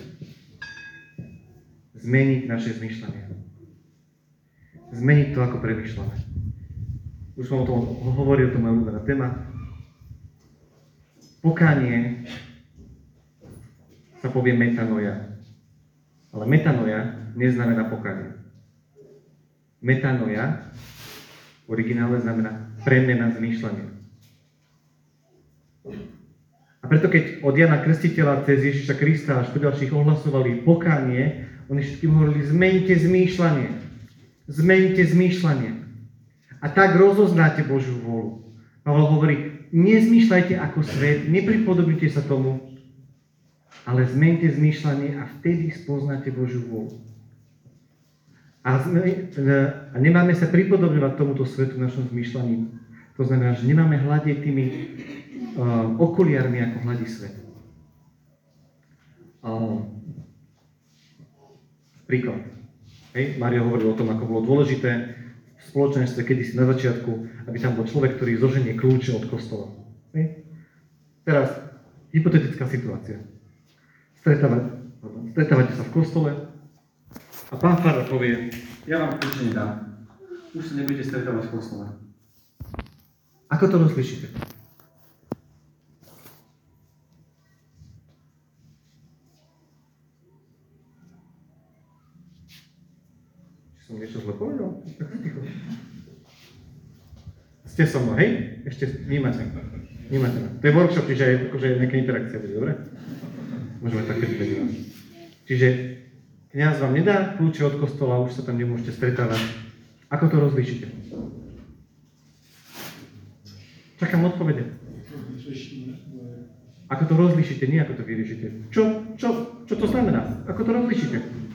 [SPEAKER 2] Zmeniť naše zmýšľanie. Zmeniť to, ako premýšľame. Už som o tom hovoril, to moja ľúbená téma. Pokánie sa povie metanoja. Ale metanoja neznamená pokánie. Metanoja v originále znamená premena zmýšľania. A preto keď od Jana Krstiteľa cez Ježiša Krista až po ďalších ohlasovali pokánie, oni všetkým hovorili, zmeňte zmýšľanie. Zmeňte zmýšľanie. A tak rozoznáte Božiu vôľu. Pavel hovorí, nezmýšľajte ako svet, nepripodobnite sa tomu, ale zmeňte zmýšľanie a vtedy spoznáte Božiu vôľu. A, sme, a nemáme sa pripodobňovať tomuto svetu v našom zmýšľaní. To znamená, že nemáme hľadiť tými uh, okuliarmi, ako hľadí svet. Uh, príklad. Hej, Mário hovoril o tom, ako bolo dôležité v spoločenstve kedysi na začiatku, aby tam bol človek, ktorý zoženie kľúče od kostola. Hej. Teraz, hypotetická situácia. Stretávate, stretávate sa v kostole a pán farár povie, ja vám kľúče nedám. Už sa nebudete stretávať v kostole. Ako to rozlišíte? Som niečo zle povedal? Ticho. Ste so mnou, hej? Ešte vnímate. Vnímate ma. To je workshop, čiže aj akože nejaká interakcia bude, dobre? Môžeme tak keď vedieť. Čiže kňaz vám nedá kľúče od kostola, už sa tam nemôžete stretávať. Ako to rozlíšite? Čakám odpovede. Ako to rozlíšite, nie ako to vyriešite. Čo, čo, čo to znamená? Ako to rozlíšite?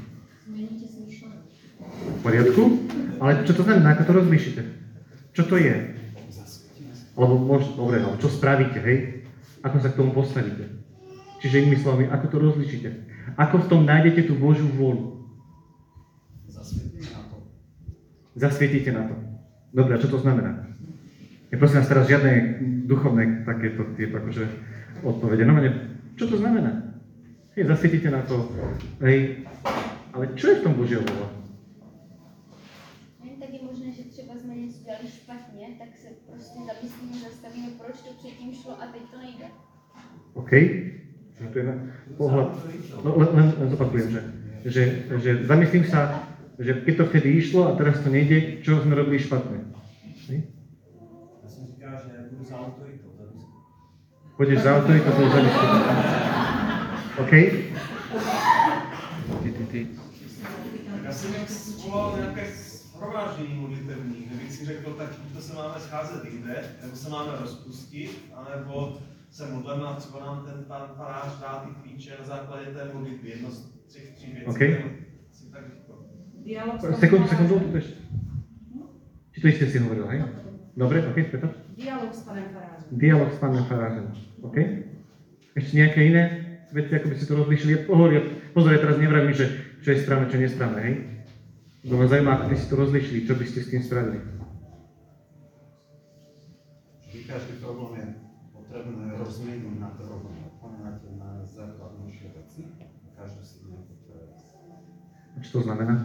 [SPEAKER 2] V poriadku, ale čo to znamená, ako to rozlíšite? Čo to je? Alebo možno, dobre, ale čo spravíte, hej? Ako sa k tomu postavíte? Čiže inými slovami, ako to rozlíšite? Ako v tom nájdete tú Božiu vôľu?
[SPEAKER 4] Zasvietite na to.
[SPEAKER 2] Zasvietite na to. Dobre, a čo to znamená? Ja prosím vás teraz žiadne duchovné takéto tieto akože odpovede. No, čo to znamená? Hej, zasvietite na to, hej, ale čo je v tom Božia vôľa?
[SPEAKER 1] Tak je možné, že třeba změnit
[SPEAKER 5] špatně, tak se prostě zamyslíme, zastavíme, proč to předtím šlo a teď to nejde.
[SPEAKER 2] OK? Že to je na pohľad. No len, len, len zopakujem, že, že, že zamyslím sa, že keď to vtedy išlo a teraz to nejde, čo sme robili špatne. Hej?
[SPEAKER 4] Já jsem říkal, že budu za autoritou. za diskusi.
[SPEAKER 2] Pôjdeš za autoritou, to za diskusiu. OK? Ty, ty, ty.
[SPEAKER 6] Tak já jsem jak svolal nějaké shromáždění modlitevní, kde bych si řekl, tak to se máme scházet jinde, nebo se máme rozpustit, anebo se modleme a třeba nám ten pan farář dá ty klíče na základě té modlitby. Jedno z třech, tří věcí.
[SPEAKER 2] OK.
[SPEAKER 6] Si tak říkal.
[SPEAKER 7] Dialog
[SPEAKER 2] Sekundu, sekundu, tu ešte. Či to isté si hovoril, hej? Dobre, OK, Peter?
[SPEAKER 7] Dialog s panem farářem.
[SPEAKER 2] Dialog s pánom farářem, OK? Ešte nejaké iné veci, ako by si to rozlíšili? Pozor, ja, pozor, ja teraz nevravím, že čo je správne, čo nie je správne, hej? Lebo ma zaujíma, ako by si to rozlíšili, čo by ste s tým spravili.
[SPEAKER 4] Vždy každý problém je potrebné rozměnit na drobné, poňať na základnejšie veci. Každý si nejakú pre
[SPEAKER 2] A čo to znamená?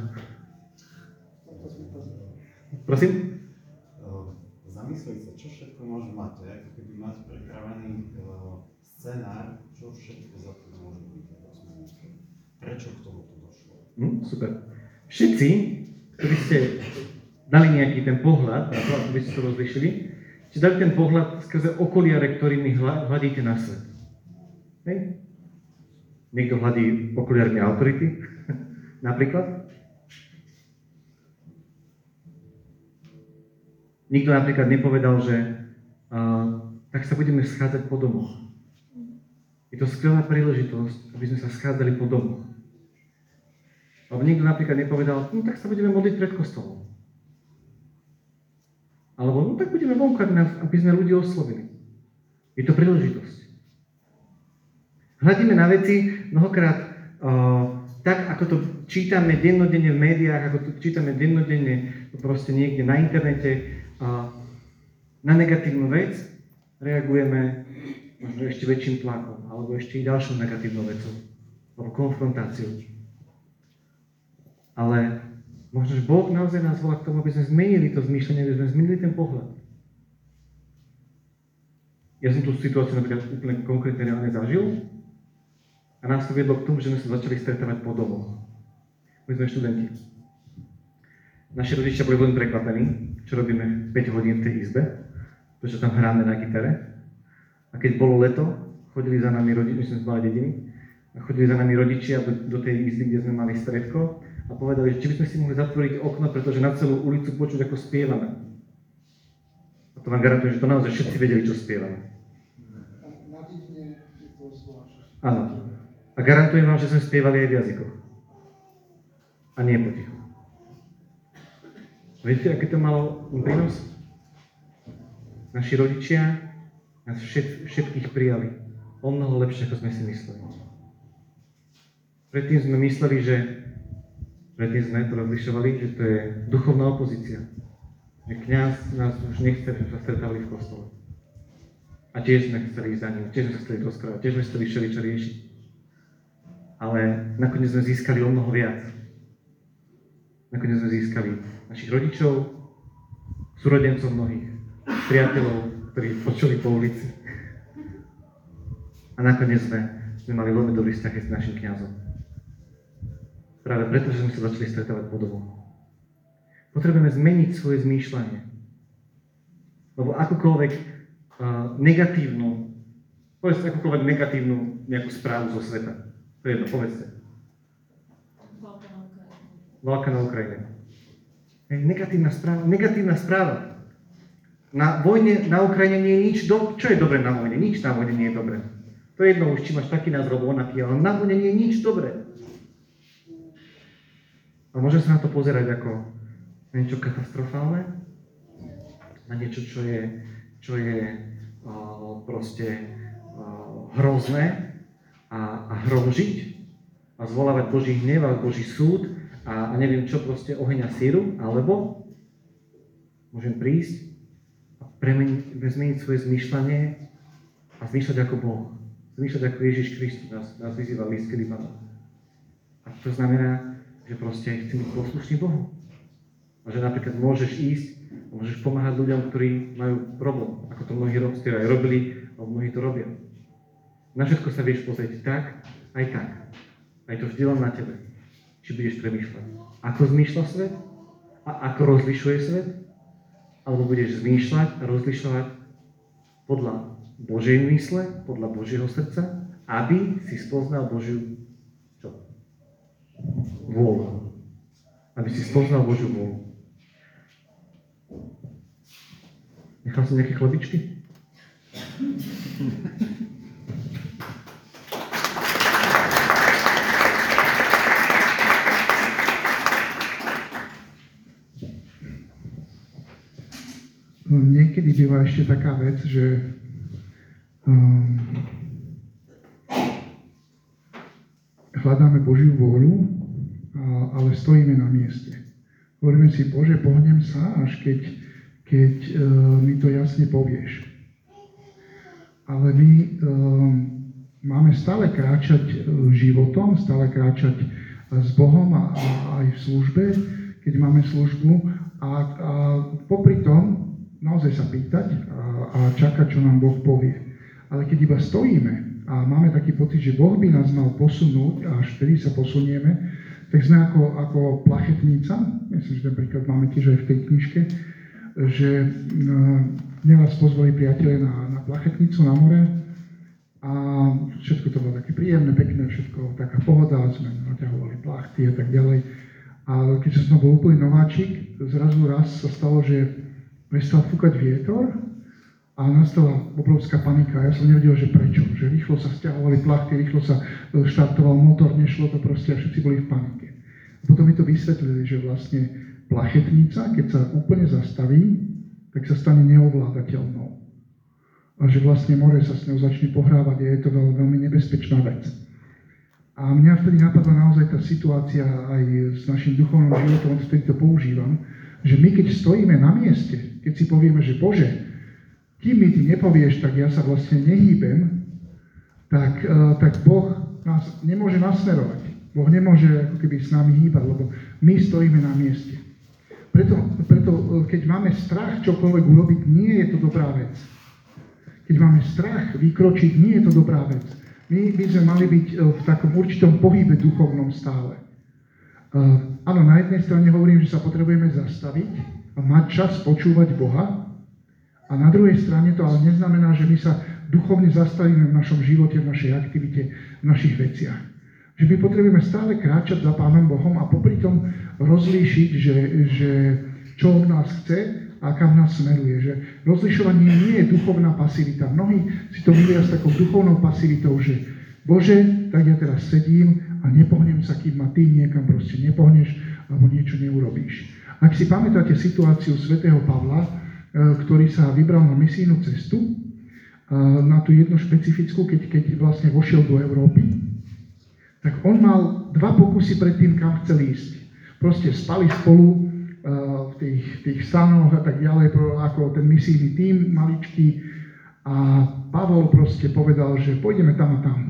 [SPEAKER 2] Prosím?
[SPEAKER 4] Zamyslieť sa, čo všetko môže mať. To je ako keby mať pripravený uh, scenár, čo všetko za to môže byť. Prečo k tomu to došlo?
[SPEAKER 2] Hm, super. Všetci, ktorí ste dali nejaký ten pohľad, na to, aby ste to rozlišili, ste dali ten pohľad skrze okuliare, ktorými hľadíte na svet. Hej? Niekto hľadí okuliarmi autority, napríklad. Nikto napríklad nepovedal, že uh, tak sa budeme schádzať po domoch. Je to skvelá príležitosť, aby sme sa schádzali po domoch. Alebo nikto napríklad nepovedal, no tak sa budeme modliť pred kostolom. Alebo no tak budeme vonku, aby sme ľudí oslovili. Je to príležitosť. Hľadíme na veci mnohokrát uh, tak, ako to čítame dennodenne v médiách, ako to čítame dennodenne proste niekde na internete, uh, na negatívnu vec reagujeme možno ešte väčším tlakom, alebo ešte i ďalšou negatívnou vecou, alebo konfrontáciou. Ale možno, že Boh naozaj nás volá k tomu, aby sme zmenili to zmýšľanie, aby sme zmenili ten pohľad. Ja som tú situáciu napríklad úplne konkrétne reálne zažil a nás to viedlo k tomu, že sme sa začali stretávať po domoch. My sme študenti. Naši rodičia boli veľmi prekvapení, čo robíme päť hodín v tej izbe, pretože tam hráme na gitare. A keď bolo leto, chodili za nami rodičia, my sme z malej dediny, a chodili za nami rodičia do, do tej izby, kde sme mali stredko a povedali, že či by sme si mohli zatvoriť okno, pretože na celú ulicu počuť, ako spievame. A to vám garantujem, že to naozaj všetci vedeli, čo spievame.
[SPEAKER 3] Na dedine je to zvlášť.
[SPEAKER 2] Áno. A garantujem vám, že sme spievali aj v jazykoch. A nie potichu. Viete, aký to malo prínos? Naši rodičia nás všet, všetkých prijali. O mnoho lepšie, ako sme si mysleli. Predtým sme mysleli, že predtým sme to rozlišovali, že to je duchovná opozícia. Že kňaz nás už nechce, že sa stretávali v kostole. A tiež sme chceli ísť za ním, tiež sme sa chceli rozprávať, tiež sme chceli všeličo riešiť. Ale nakoniec sme získali o mnoho viac. Nakoniec sme získali našich rodičov, súrodencov mnohých, priateľov, ktorí počuli po ulici. A nakoniec sme, sme mali veľmi dobrý vzťah s našim kňazom. Práve preto, že sme sa začali stretávať po domoch. Potrebujeme zmeniť svoje zmýšľanie. Lebo akúkoľvek uh, negatívnu, povedzte akúkoľvek negatívnu nejakú správu zo sveta. To je jedno, povedzte.
[SPEAKER 7] Válka na Ukrajine.
[SPEAKER 2] Válka na Ukrajine. Hej, negatívna správa. Negatívna správa. Na vojne na Ukrajine nie je nič do... Čo je dobré na vojne? Nič na vojne nie je dobré. To je jedno už, či máš taký názor, alebo onaký, ale na vojne nie je nič dobré. A môžem sa na to pozerať ako niečo katastrofálne, na niečo, čo je, čo je uh, proste uh, hrozné a, a hromžiť a zvolávať Boží hnev a Boží súd a, a neviem čo, proste oheň a síru, alebo môžem prísť a premeniť, zmeniť svoje zmýšľanie a zmýšľať ako Boh. Zmýšľať ako Ježiš Kristus nás, nás vyzýva v liste Libanon. A to znamená, že proste chcem byť poslušný Bohu. A že napríklad môžeš ísť Môžeš pomáhať ľuďom, ktorí majú problém, ako to mnohí robstia aj robili, a mnohí to robia. Na všetko sa vieš pozrieť tak, aj tak. Aj to vždy len na tebe. Či budeš premýšľať, ako zmýšľa svet a ako rozlišuje svet, alebo budeš zmýšľať a rozlišovať podľa Božej mysle, podľa Božieho srdca, aby si spoznal Božiu čo? Vôľu. Aby si spoznal Božiu vôľu. Nechal som nejaké chlebičky?
[SPEAKER 3] Niekedy býva ešte taká vec, že um, hľadáme Božiu vôľu, ale stojíme na mieste. Hovoríme si, Bože, pohnem sa, až keď, keď uh, mi to jasne povieš. Ale my um, máme stále kráčať uh, životom, stále kráčať uh, s Bohom a, a aj v službe, keď máme službu a, a popri tom naozaj sa pýtať a, a čakať, čo nám Boh povie. Ale keď iba stojíme a máme taký pocit, že Boh by nás mal posunúť a až vtedy sa posunieme, tak sme ako, ako plachetnica, myslím, že ten príklad máme tiež aj v tej knižke, že mňa vás pozvali priatelia na, na plachetnicu na more a všetko to bolo také príjemné, pekné, všetko taká pohoda, sme naťahovali plachty a tak ďalej. Ale keď som bol úplný nováčik, zrazu raz sa stalo, že prestal fúkať vietor a nastala obrovská panika. Ja som nevedel, že prečo. Že rýchlo sa sťahovali plachty, rýchlo sa štartoval motor, nešlo to proste a všetci boli v panike. A potom mi to vysvetlili, že vlastne plachetnica, keď sa úplne zastaví, tak sa stane neovládateľnou. A že vlastne more sa s ňou začne pohrávať a je to veľmi, veľmi nebezpečná vec. A mňa vtedy napadla naozaj tá situácia aj s našim duchovným životom, vtedy to používam, že my keď stojíme na mieste, keď si povieme, že Bože, kým mi ty nepovieš, tak ja sa vlastne nehýbem, tak, uh, tak Boh nás nemôže nasmerovať. Boh nemôže ako keby s nami hýbať, lebo my stojíme na mieste. Preto, preto keď máme strach čokoľvek urobiť, nie je to dobrá vec. Keď máme strach vykročiť, nie je to dobrá vec. My by sme mali byť v takom určitom pohybe duchovnom stále. Uh, áno, na jednej strane hovorím, že sa potrebujeme zastaviť a mať čas počúvať Boha, a na druhej strane to ale neznamená, že my sa duchovne zastavíme v našom živote, v našej aktivite, v našich veciach. Že my potrebujeme stále kráčať za Pánom Bohom a popri tom rozlíšiť, že, že čo od nás chce a kam nás smeruje. Že rozlišovanie nie je duchovná pasivita. Mnohí si to milia s takou duchovnou pasivitou, že Bože, tak ja teraz sedím a nepohnem sa, kým ma ty niekam proste nepohneš alebo niečo neurobíš. Ak si pamätáte situáciu svätého Pavla, ktorý sa vybral na misijnú cestu, na tú jednu špecifickú, keď, keď vlastne vošiel do Európy, tak on mal dva pokusy pred tým, kam chcel ísť. Proste spali spolu v tých, tých stanoch a tak ďalej, ako ten misijný tím maličký, a Pavol proste povedal, že pôjdeme tam a tam.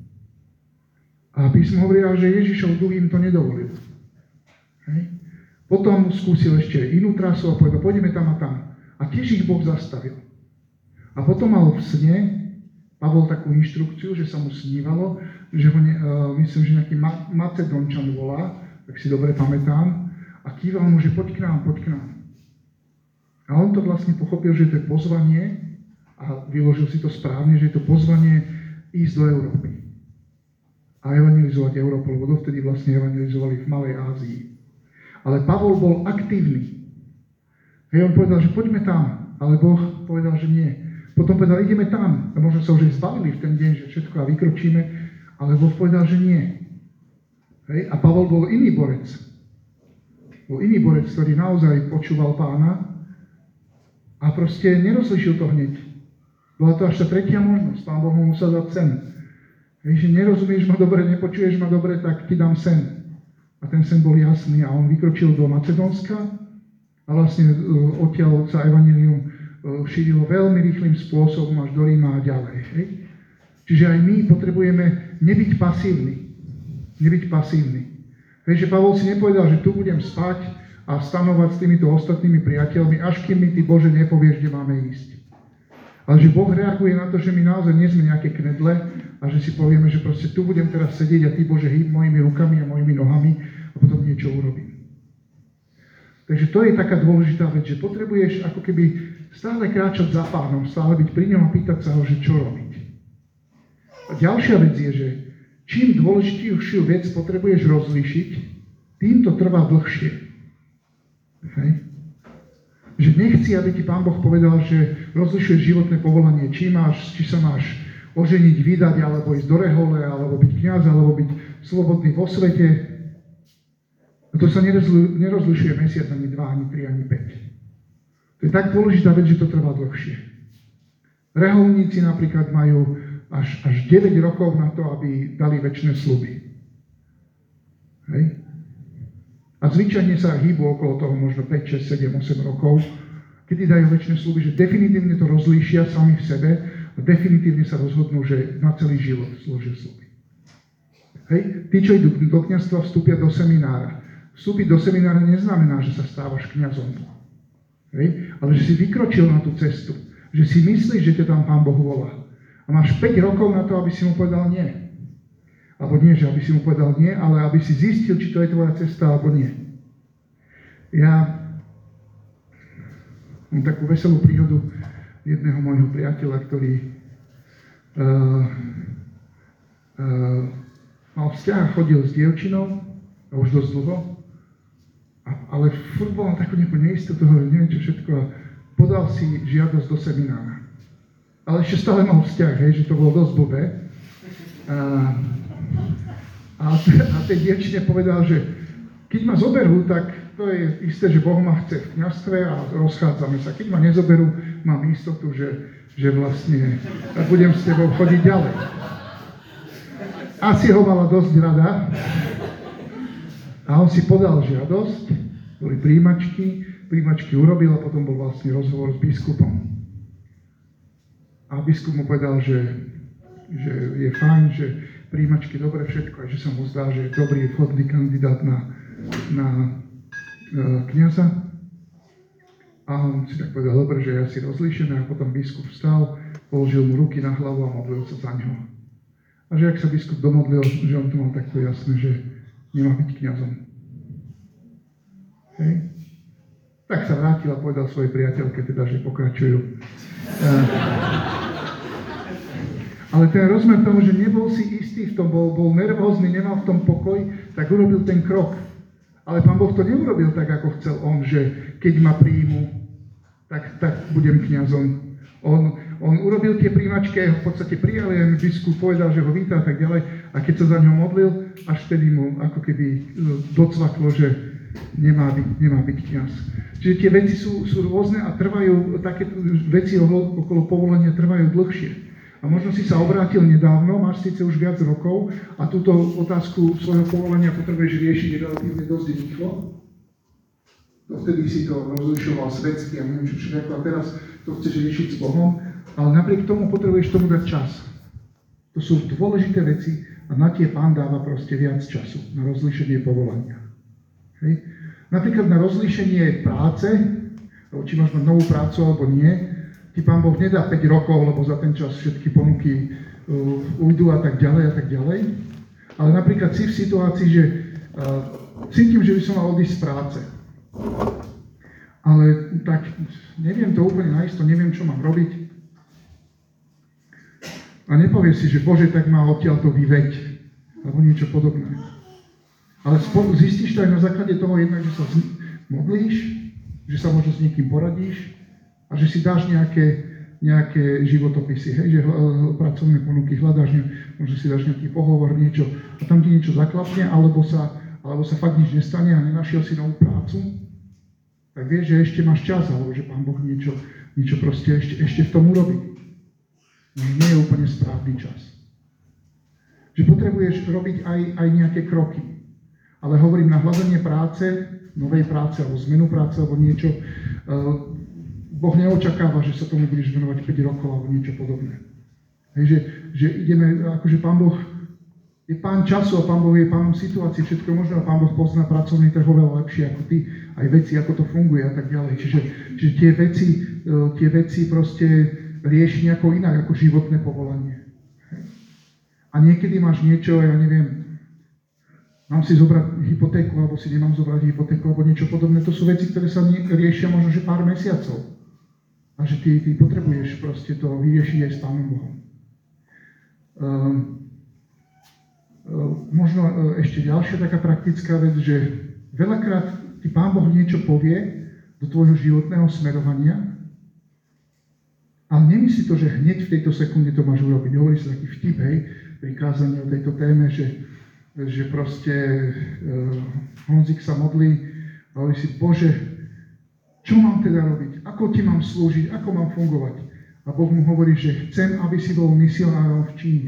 [SPEAKER 3] A písmo hovorí, že Ježišov duch im to nedovolil. Hej. Potom skúsil ešte inú trasu a povedal, pôjdeme tam a tam. A tiež ich Boh zastavil. A potom mal v sne Pavol takú inštrukciu, že sa mu snívalo, že ho, ne, uh, myslím, že nejaký Ma- Macedončan volá, tak si dobre pamätám, a kýval mu, že poď k nám, poď k nám. A on to vlastne pochopil, že to je pozvanie, a vyložil si to správne, že je to pozvanie ísť do Európy. A evangelizovať Európu, lebo dovtedy vlastne evangelizovali v Malej Ázii. Ale Pavol bol aktívny. Hej, on povedal, že poďme tam, ale Boh povedal, že nie. Potom povedal, ideme tam. A možno sa už aj zbavili v ten deň, že všetko a vykročíme, ale Boh povedal, že nie. Hej, a Pavol bol iný borec. Bol iný borec, ktorý naozaj počúval Pána a proste nerozlišil to hneď. Bola to až tá tretia možnosť. Pán Boh mu musel dať sen. Hej, že nerozumieš ma dobre, nepočuješ ma dobre, tak ti dám sen. A ten sen bol jasný a on vykročil do Macedónska. A vlastne uh, odtiaľ sa evanjelium uh, šírilo veľmi rýchlým spôsobom až do Ríma a ďalej. Hej? Čiže aj my potrebujeme nebyť pasívni. Nebyť pasívni. Hej, že Pavol si nepovedal, že tu budem spať a stanovať s týmito ostatnými priateľmi, až kým mi ty Bože nepovieš, kde máme ísť. Ale že Boh reaguje na to, že my naozaj nie sme nejaké knedle a že si povieme, že proste tu budem teraz sedieť a ty Bože hýb mojimi rukami a mojimi nohami a potom niečo urobím. Takže to je taká dôležitá vec, že potrebuješ ako keby stále kráčať za Pánom, stále byť pri ňom a pýtať sa ho, že čo robiť. A ďalšia vec je, že čím dôležitejšiu vec potrebuješ rozlíšiť, tým to trvá dlhšie. Hej? Že nechci, aby ti Pán Boh povedal, že rozlišuješ životné povolanie, či, máš, či sa máš oženiť, vydať, alebo ísť do rehole, alebo byť kňaz, alebo byť slobodný vo svete. A to sa nerozli, nerozlišuje mesiac, ani dva, ani tri, ani päť. To je tak dôležitá vec, že to trvá dlhšie. Reholníci napríklad majú až, až deväť rokov na to, aby dali večné sľuby. Hej? A zvyčajne sa hýbu okolo toho možno päť, šesť, sedem, osem rokov, kedy dajú večné sľuby, že definitívne to rozlíšia sami v sebe a definitívne sa rozhodnú, že na celý život slúžia sľuby. Hej? Tí, čo idú do kňazstva, vstúpia do seminára. Vstúpiť do seminára neznamená, že sa stávaš kňazom. Hej? Ale že si vykročil na tú cestu. Že si myslíš, že ťa tam Pán Boh volá. A máš päť rokov na to, aby si mu povedal nie. Alebo nie, že aby si mu povedal nie, ale aby si zistil, či to je tvoja cesta, alebo nie. Ja mám takú veselú príhodu jedného môjho priateľa, ktorý uh, uh, mal vzťah a chodil s dievčinou, a už dosť dlho, a, ale furt bol na takú nejakú neistotu, neviem čo všetko, a podal si žiadosť do seminára. Ale ešte stále mal vzťah, hej, že to bolo dosť blbé. A, a, a tej dievčine povedal, že keď ma zoberú, tak to je isté, že Boh ma chce v kňazstve a rozchádzame sa. Keď ma nezoberú, mám istotu, že, že vlastne budem s tebou chodiť ďalej. Asi ho mala dosť rada. A on si podal žiadosť, boli príjimačky, príjimačky urobil a potom bol vlastne rozhovor s biskupom. A biskup mu povedal, že, že je fajn, že príjimačky dobre všetko a že sa mu zdá, že je dobrý, vhodný kandidát na, na uh, kňaza. A on si tak povedal, dobre, že je asi rozlíšený a potom biskup vstal, položil mu ruky na hlavu a modlil sa za ňoho. A že ak sa biskup domodlil, že on to mal takto jasné, že nemá byť kňazom. Hej. Tak sa vrátil a povedal svojej priateľke, teda, že pokračujú. Uh, ale ten rozmer toho, že nebol si istý v tom, bol, bol nervózny, nemal v tom pokoj, tak urobil ten krok. Ale Pán Boh to neurobil tak, ako chcel on, že keď ma príjmu, tak, tak budem kňazom. On, on urobil tie príjmačky, v podstate prijal, jen biskup povedal, že ho víta a tak ďalej. A keď sa za ňo modlil, až vtedy mu ako keby docvaklo, že nemá byť, nemá byť kňaz. Čiže tie veci sú, sú rôzne a trvajú, také veci okolo povolania trvajú dlhšie. A možno si sa obrátil nedávno, máš síce už viac rokov a túto otázku svojho povolania potrebuješ riešiť relatívne dosť rýchlo. Vtedy si to rozlišoval svetsky a neviem čo všetko a teraz to chceš riešiť s Bohom, ale napriek tomu potrebuješ tomu dať čas. To sú dôležité veci a na tie Pán dáva proste viac času na rozlíšenie povolania. Hej. Napríklad na rozlíšenie práce, či máš mať novú prácu alebo nie, ti Pán Boh nedá päť rokov, lebo za ten čas všetky ponuky uh, ujdu a tak ďalej a tak ďalej. Ale napríklad si v situácii, že uh, cítim, že by som mal odísť z práce. Ale tak neviem to úplne naisto, neviem, čo mám robiť. A nepovieš si, že Bože, tak ma odtiaľ to vyveď, alebo niečo podobné. Ale spolu zistíš to aj na základe toho jednak, že sa modlíš, že sa možno s niekým poradíš a že si dáš nejaké, nejaké životopisy, hej, že pracovné ponuky hľadáš, možno si dáš nejaký pohovor, niečo a tam ti niečo zaklapne, alebo sa, alebo sa fakt nič nestane a nenašiel si novú prácu, tak vieš, že ešte máš čas, alebo že Pán Boh niečo, niečo proste ešte, ešte v tom urobí. No, nie je úplne správny čas. Že potrebuješ robiť aj, aj nejaké kroky. Ale hovorím, na hľadanie práce, novej práce, alebo zmenu práce, alebo niečo, uh, Boh neočakáva, že sa tomu budeš venovať päť rokov, alebo niečo podobné. Hej, že, že ideme, akože Pán Boh Je pán času a pán Boh je pánom situácií, všetko možné a pán Boh pozná pracovný trh oveľa lepšie ako ty, aj veci, ako to funguje a tak ďalej. Čiže, čiže tie veci, tie veci proste rieši nejako inak ako životné povolanie. A niekedy máš niečo, ja neviem, mám si zobrať hypotéku, alebo si nemám zobrať hypotéku, alebo niečo podobné. To sú veci, ktoré sa riešia možno, že pár mesiacov. A že ty, ty potrebuješ proste to vyriešiť aj s Pánom Bohom. Um, um, možno um, ešte ďalšia taká praktická vec, že veľakrát ti Pán Boh niečo povie do tvojho životného smerovania, ale nemyslí to, že hneď v tejto sekunde to máš urobiť. Hovorí sa taký vtip, hej, pri kázaní o tejto téme, že, že proste uh, Honzik sa modlí a hovorí si, Bože, čo mám teda robiť? Ako ti mám slúžiť? Ako mám fungovať? A Boh mu hovorí, že chcem, aby si bol misionárom v Číne.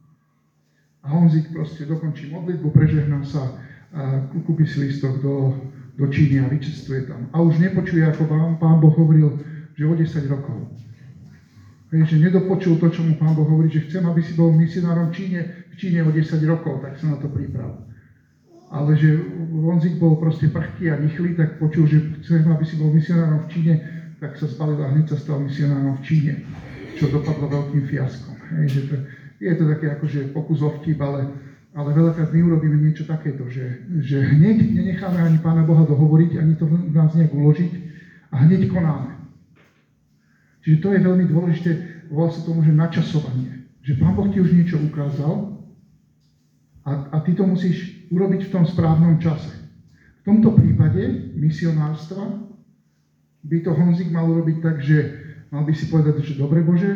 [SPEAKER 3] A Honzik proste dokončí modlitbu, prežehná sa a kúpi si listok do, do Číny a vycestuje tam. A už nepočuje, ako pán, pán Boh hovoril, že o desať rokov. Hej, že nedopočul to, čo mu Pán Boh hovorí, že chcem, aby si bol misionárom v Číne, v Číne o desať rokov, tak sa na to priprav. Ale že Honzik bol proste prchký a rýchly, tak počul, že chcem, aby si bol misionárom v Číne, tak sa zbalil a hneď sa stal misionárom v Číne, čo dopadlo veľkým fiaskom. Hej, že to, je to také akože pokus o vtip, ale, ale veľakrát my urobíme niečo takéto, že, že hneď nenecháme ani Pána Boha dohovoriť, ani to v nás nejak uložiť a hneď konáme. Čiže to je veľmi dôležité, volá sa tomu, že načasovanie. Že Pán Boh ti už niečo ukázal a, a ty to musíš urobiť v tom správnom čase. V tomto prípade misionárstva by to Honzik mal urobiť tak, že mal by si povedať, že dobre Bože,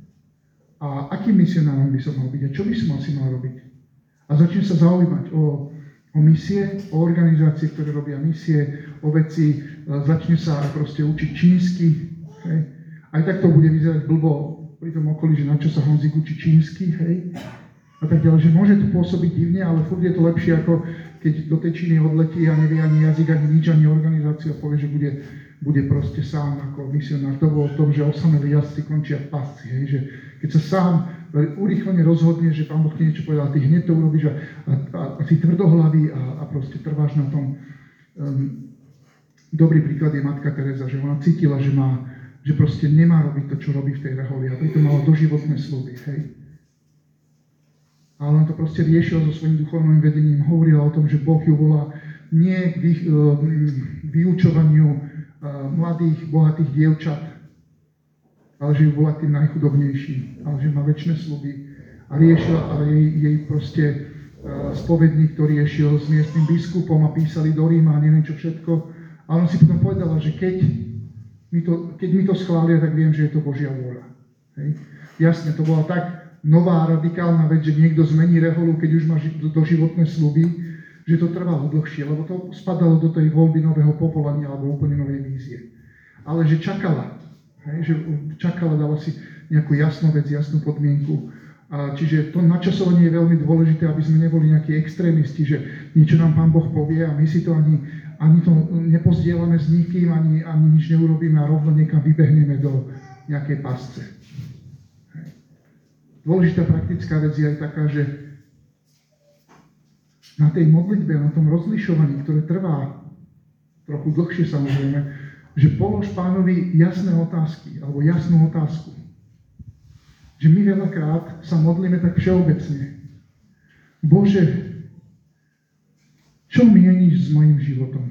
[SPEAKER 3] a akým misionárom by som mal byť a čo by som asi mal robiť. A začne sa zaujímať o, o misie, o organizácie, ktoré robia misie, o veci, začne sa proste učiť čínsky. Hej. Aj tak to bude vyzerať blbo pri tom okolí, že na čo sa Honzik učí čínsky, hej. A tak ďalej, že môže to pôsobiť divne, ale furt je to lepšie, ako keď do tej Číny odletí a nevie ani jazyk, ani nič, ani organizáciu a povie, že bude, bude proste sám ako misionár. To bolo v tom, že osamelí jazdci končia v pasci, hej, že keď sa sám urýchlene rozhodne, že Pán Boh ti niečo povedal, ty hneď to urobíš a, a, a, a si tvrdohlavý a, a proste trváš na tom. Um, dobrý príklad je Matka Teresa, že ona cítila, že má, že proste nemá robiť to, čo robí v tej reholi a preto mala doživotné sľuby, hej. Ale on to proste riešil so svojím duchovným vedením, hovorila o tom, že Boh ju volá nie k vy, vyučovaniu mladých, bohatých dievčat, ale že ju volá k tým najchudobnejším, ale že má večné sľuby. A riešila, ale jej, jej proste spovedník, ktorý riešil s miestnym biskupom a písali do Ríma a neviem čo všetko. A on si potom povedala, že keď mi to, keď mi to schvália, tak viem, že je to Božia vôľa. Hej. Jasne, to bola tak nová radikálna vec, že niekto zmení reholu, keď už má doživotné sľuby, že to trvalo dlhšie, lebo to spadalo do tej voľby nového povolania alebo úplne novej vízie. Ale že čakala, hej, že čakala, dala si nejakú jasnú vec, jasnú podmienku. A čiže to načasovanie je veľmi dôležité, aby sme neboli nejakí extrémisti, že niečo nám Pán Boh povie a my si to ani, ani to nepozdielame s nikým, ani, ani nič neurobíme a rovno niekam vybehneme do nejakej pasce. Dôležitá praktická vec je aj taká, že na tej modlitbe, na tom rozlišovaní, ktoré trvá trochu dlhšie samozrejme, že polož Pánovi jasné otázky, alebo jasnú otázku. Že my veľakrát sa modlíme tak všeobecne. Bože, čo mieníš s mojím životom?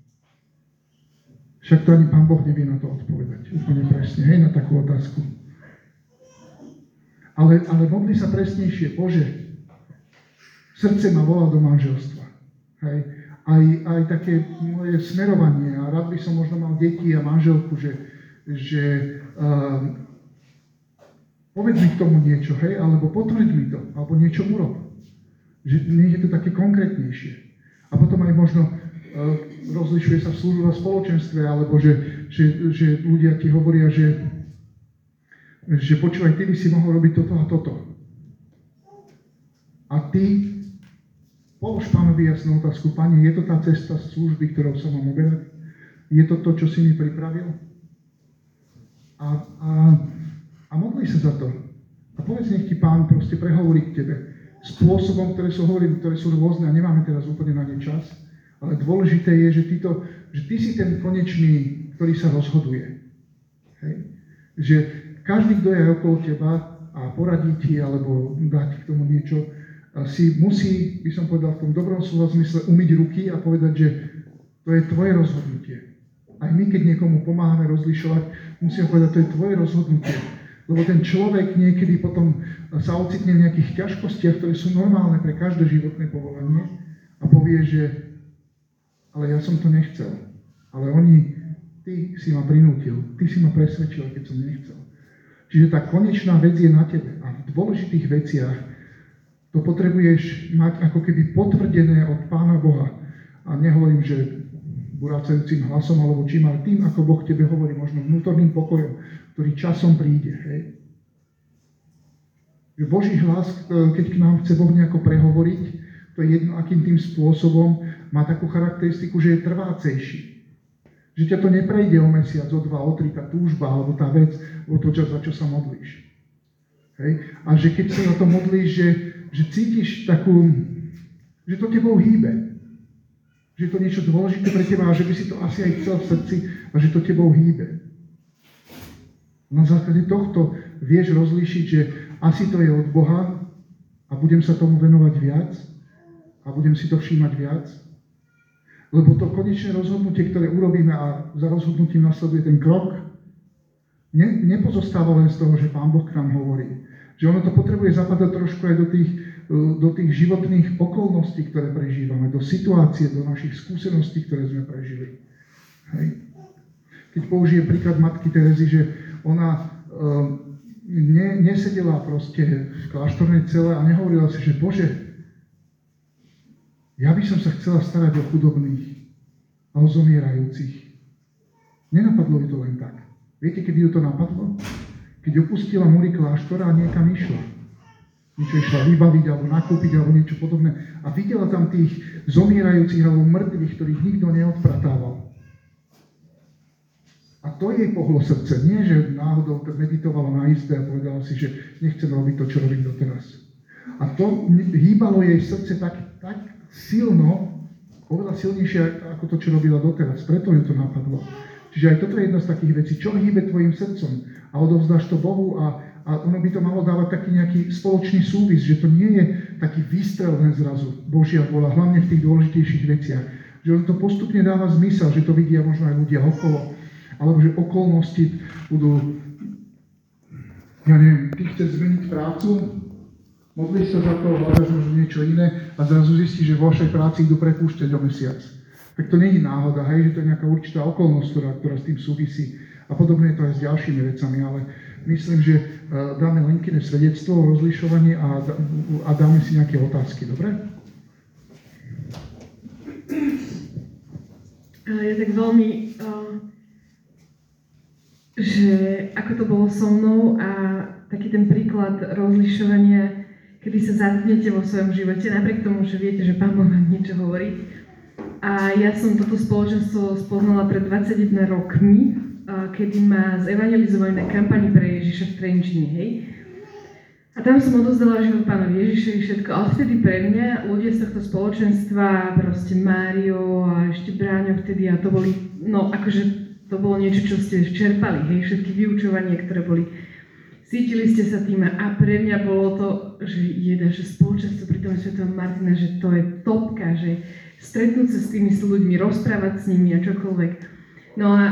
[SPEAKER 3] Však to ani Pán Boh nevie na to odpovedať. Úplne presne, hej, na takú otázku. Ale, ale modli sa presnejšie, Bože, srdce ma volá do manželstva. Hej. Aj, aj také moje smerovanie, a rád by som možno mal deti a manželku, že, že um, povedz mi k tomu niečo, hej, alebo potvrď mi to, alebo niečo urob. Že nie je to také konkrétnejšie. A potom aj možno uh, rozlišuje sa v službe a spoločenstve, alebo že, že, že ľudia ti hovoria, že že počúvaj, ty by si mohol robiť toto a toto. A ty polož Pánovi jasnú otázku, Pane, je to tá cesta služby, ktorou sa mám uberať? Je to to, čo si mi pripravil? A, a, a modli sa za to. A povedz, nech ti Pán proste prehovorí k tebe spôsobom, ktoré sú, hovorím, ktoré sú rôzne a nemáme teraz úplne na ne čas, ale dôležité je, že, tyto, že ty si ten konečný, ktorý sa rozhoduje. Hej? Že každý, kto je okolo teba a poradí ti alebo dá ti k tomu niečo, si musí, by som povedal v tom dobrom slova zmysle, umyť ruky a povedať, že to je tvoje rozhodnutie. Aj my, keď niekomu pomáhame rozlišovať, musíme povedať, to je tvoje rozhodnutie. Lebo ten človek niekedy potom sa ocitne v nejakých ťažkostiach, ktoré sú normálne pre každé životné povolanie a povie, že ale ja som to nechcel. Ale oni, ty si ma prinútil, ty si ma presvedčil, keď som nechcel. Čiže tá konečná vec je na tebe. A v dôležitých veciach to potrebuješ mať ako keby potvrdené od Pána Boha. A nehovorím, že burácajúcim hlasom alebo čím, ale tým, ako Boh tebe hovorí, možno vnútorným pokojom, ktorý časom príde. Hej. Že Boží hlas, keď k nám chce Boh nejako prehovoriť, to je jedno, akým tým spôsobom, má takú charakteristiku, že je trvácejší. Že ťa to neprejde o mesiac, o dva, o tri, tá túžba, alebo tá vec, o to, za čo sa modlíš. Hej. A že keď sa za to modlíš, že, že cítiš takú, že to tebou hýbe. Že je to niečo dôležité pre teba a že by si to asi aj chcel v srdci a že to tebou hýbe. Na základe tohto vieš rozlíšiť, že asi to je od Boha a budem sa tomu venovať viac a budem si to všímať viac. Lebo to konečné rozhodnutie, ktoré urobíme a za rozhodnutím nasleduje ten krok, ne, nepozostáva len z toho, že Pán Boh k nám hovorí. Že ono to potrebuje zapadať trošku aj do tých, do tých životných okolností, ktoré prežívame, do situácie, do našich skúseností, ktoré sme prežili. Hej. Keď použijem príklad matky Terezy, že ona um, ne, nesedela proste v kláštornej cele a nehovorila si, že Bože, ja by som sa chcela starať o chudobných a o zomierajúcich. Nenapadlo ju to len tak. Viete, kedy ju to napadlo? Keď opustila múry kláštora a niekam išla. Niečo išla vybaviť, alebo nakúpiť, alebo niečo podobné. A videla tam tých zomierajúcich alebo mŕtvych, ktorých nikto neodpratával. A to jej pohlo srdce. Nie, že náhodou meditovala na izbe a povedala si, že nechcem robiť to, čo robím doteraz. A to hýbalo jej srdce tak, tak silno, oveľa silnejšie ako to, čo robila doteraz. Preto ju to napadlo. Čiže aj toto je jedna z takých vecí. Čo hýbe tvojim srdcom? A odovzdáš to Bohu a, a ono by to malo dávať taký nejaký spoločný súvis, že to nie je taký výstrel len zrazu Božia vôľa, hlavne v tých dôležitejších veciach. Že on to postupne dáva zmysel, že to vidia možno aj ľudia okolo, alebo že okolnosti budú, ja neviem, ty chceš zmeniť prácu, modlíš sa za to, hľadaš možno niečo iné a zrazu zistíš, že vo vašej práci idú prepúšťať o mesiac. Tak to nie je náhoda, hej, že to je nejaká určitá okolnosť, ktorá, ktorá s tým súvisí. A podobne je to aj s ďalšími vecami, ale myslím, že uh, dáme Lenkyne svedectvo o rozlišovaní a, a dáme si nejaké otázky, dobre?
[SPEAKER 1] Ja tak veľmi, uh, že ako to bolo so mnou a taký ten príklad rozlišovania, kedy sa zatknete vo svojom živote, napriek tomu, že viete, že Pán Boh vám niečo hovorí. A ja som toto spoločenstvo spoznala pred dvadsaťjeden rokmi, kedy ma zevangelizovali na kampani pre Ježiša v Trenčine, hej. A tam som odozdala život Pánovi Ježišovi všetko, ale vtedy pre mňa ľudia z tohto spoločenstva, proste Mário a ešte Bráňo vtedy, a to boli, no akože to bolo niečo, čo ste čerpali, hej, všetky vyučovania, ktoré boli, cítili ste sa tým a pre mňa bolo to, že jeda, že spoločenstvo pri tom Svetom Martina, že to je topka, že stretnúť sa s tými ľuďmi, rozprávať s nimi a čokoľvek. No a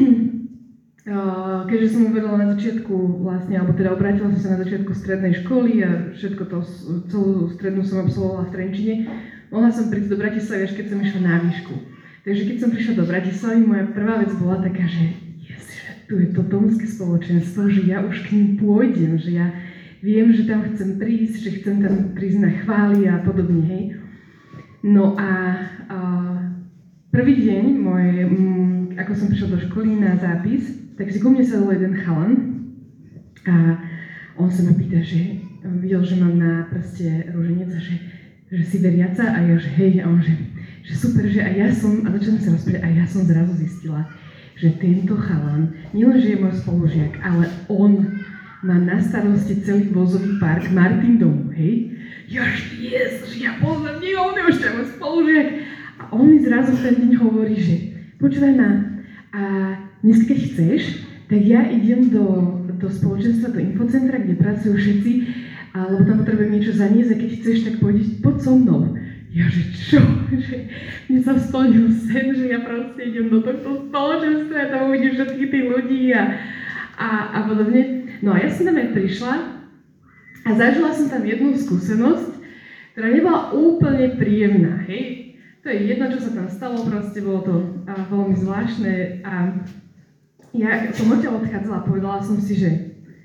[SPEAKER 1] keďže som uvedala na začiatku vlastne, alebo teda obrátila som sa na začiatku strednej školy a všetko to, celú strednú som absolvovala v Trenčine, mohla som prísť do Bratislavy, až keď som išla na výšku. Takže keď som prišla do Bratislavy, moja prvá vec bola taká, že yes, že tu je to domské spoločenstvo, že ja už k ním pôjdem, že ja viem, že tam chcem prísť, že chcem tam prísť na chvály a podobne, hej. No a, a prvý deň, môj, m, ako som prišla do školy na zápis, tak si ku mne sadol jeden chalan a on sa ma pýta, že videl, že mám na prste rúženec a že, že si veriaca a ja, že hej, a on, že, že super, že aj ja som, a začala sa rozprávať, a ja som zrazu zistila, že tento chalan, nielenže je môj spolužiak, ale on má na starosti celý vozový park Martin domu, hej? Jož, Jezus, ja poznám, nie, on je už tam spolužiak. A on mi zrazu v ten deň hovorí, že počúvaj ma, a dnes keď chceš, tak ja idem do, do spoločenstva, do infocentra, kde pracujú všetci, a, lebo tam potrebujem niečo zaniesť a keď chceš, tak pôjdeš, poď so mnou. Ja, že čo? Že mne sa splnil sen, že ja proste idem do tohto spoločenstva a tam uvidím všetkých tých ľudí a, a, a podobne. No a ja som tam aj prišla a zažila som tam jednu skúsenosť, ktorá nebola úplne príjemná, hej. To je jedno, čo sa tam stalo, proste bolo to a, veľmi zvláštne a ja som odtiaľ odchádzala a povedala som si, že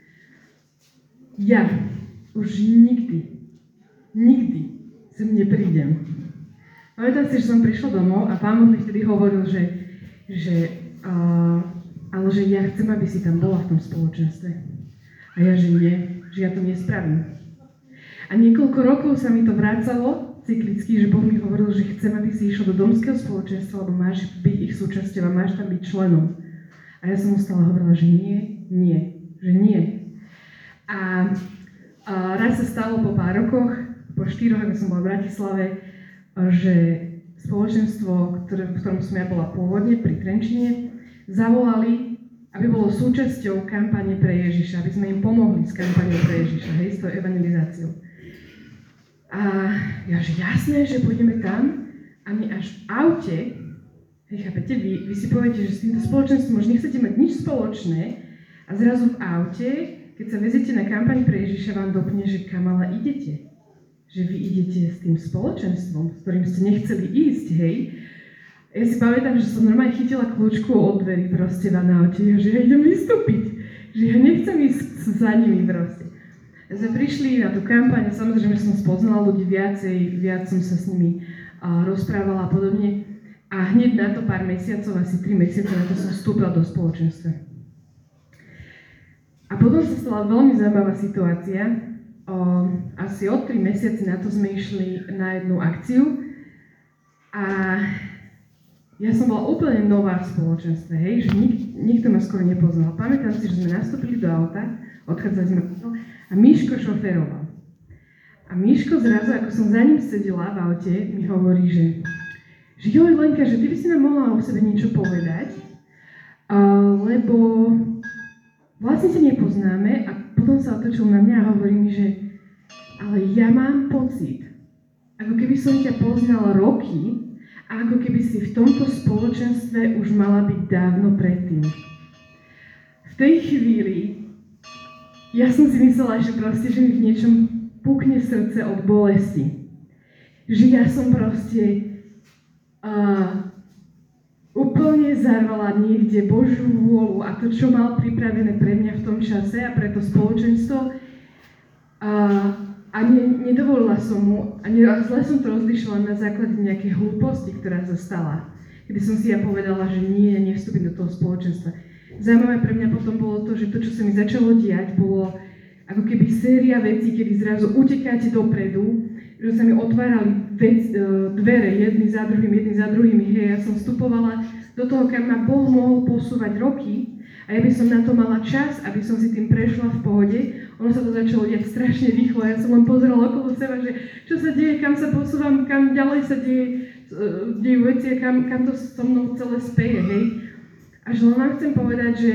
[SPEAKER 1] ja už nikdy, nikdy sem neprídem. Pamätám si, že som prišla domov a pán Boh mi vtedy hovoril, že, že, uh, ale že ja chcem, aby si tam bola v tom spoločenstve. A ja, že nie, že ja to nespravím. A niekoľko rokov sa mi to vrácalo cyklicky, že Boh mi hovoril, že chcem, aby si išiel do domského spoločenstva, lebo máš byť ich súčasťou a máš tam byť členom. A ja som mu stále hovorila, že nie, nie, že nie. A, a raz sa stalo po pár rokoch, po štyroch, ako som bola v Bratislave, že spoločenstvo, ktoré, v ktorom som ja bola pôvodne pri Trenčine, zavolali, aby bolo súčasťou kampane pre Ježiša, aby sme im pomohli s kampaňou pre Ježiša, hej, s tou evangelizáciou. A ja, že jasné, že pôjdeme tam, a my až v aute, hej, chápete, vy, vy si poviete, že s týmto spoločenstvom už nechcete mať nič spoločné a zrazu v aute, keď sa veziete na kampaň pre Ježiša, vám dopne, že kam ale idete. Že vy idete s tým spoločenstvom, s ktorým ste nechceli ísť, hej. Ja si pamätám, že som normálne chytila kľúčku od dverí proste v aute, že ja idem vystúpiť, že ja nechcem ísť za nimi proste. Sme prišli na tú kampaň, samozrejme som spoznala ľudí viacej, viac som sa s nimi uh, rozprávala a podobne. A hneď na to pár mesiacov, asi tri mesiace na to som vstúpila do spoločenstva. A potom sa stala veľmi zaujímavá situácia. O, asi o tri mesiace na to sme išli na jednu akciu a ja som bola úplne nová v spoločenstve, hej, že nik, nikto ma skoro nepoznal. Pamätám si, že sme nastúpili do auta, odchádzali sme a Miško šoféroval. A Miško zrazu, ako som za ním sedela v aute, mi hovorí, že, že joj, Lenka, že ty by si nám mohla o sebe niečo povedať, uh, lebo vlastne sa nepoznáme a potom sa otočil na mňa a hovorí mi, že ale ja mám pocit, ako keby som ťa poznal roky a ako keby si v tomto spoločenstve už mala byť dávno predtým. V tej chvíli ja som si myslela, že proste, že mi v niečom pukne srdce od bolesti. Že ja som proste uh, úplne zarvala niekde Božiu vôľu a to, čo mal pripravené pre mňa v tom čase a pre to spoločenstvo. A, a ne, nedovolila som mu, a ne, zle som to rozlišila na základe nejakej hlúposti, ktorá sa stala. Kedy som si ja povedala, že nie, nevstúpim do toho spoločenstva. Zaujímavé pre mňa potom bolo to, že to, čo sa mi začalo diať, bolo ako keby séria vecí, kedy zrazu utekáte dopredu, že sa mi otvárali vec, dvere jedny za druhým, jedny za druhými, hej, ja som vstupovala do toho, kam ma Boh mohol posúvať roky a ja by som na to mala čas, aby som si tým prešla v pohode. Ono sa to začalo diať strašne rýchlo, ja som len pozerala okolo seba, že čo sa deje, kam sa posúvam, kam ďalej sa deje, dejú veci a kam, kam to so mnou celé speje, hej. Až len vám chcem povedať, že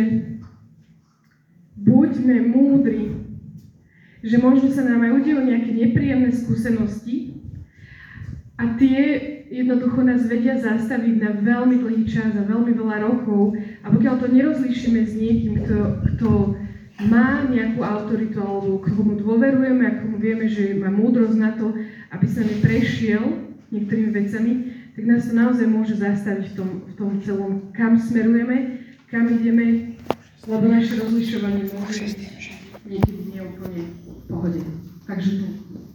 [SPEAKER 1] buďme múdri, že možno sa nám aj udejú nejaké nepríjemné skúsenosti a tie jednoducho nás vedia zastaviť na veľmi dlhý čas a veľmi veľa rokov a pokiaľ to nerozlíšime s niekým, kto, kto má nejakú autoritu alebo komu dôverujeme a komu vieme, že má múdrosť na to, aby sa mi prešiel niektorými vecami, tak nás to naozaj môže zastaviť v tom, v tom celom, kam smerujeme, kam ideme, lebo naše rozlišovanie môže byť niekedy neúplne v pohode. Takže to.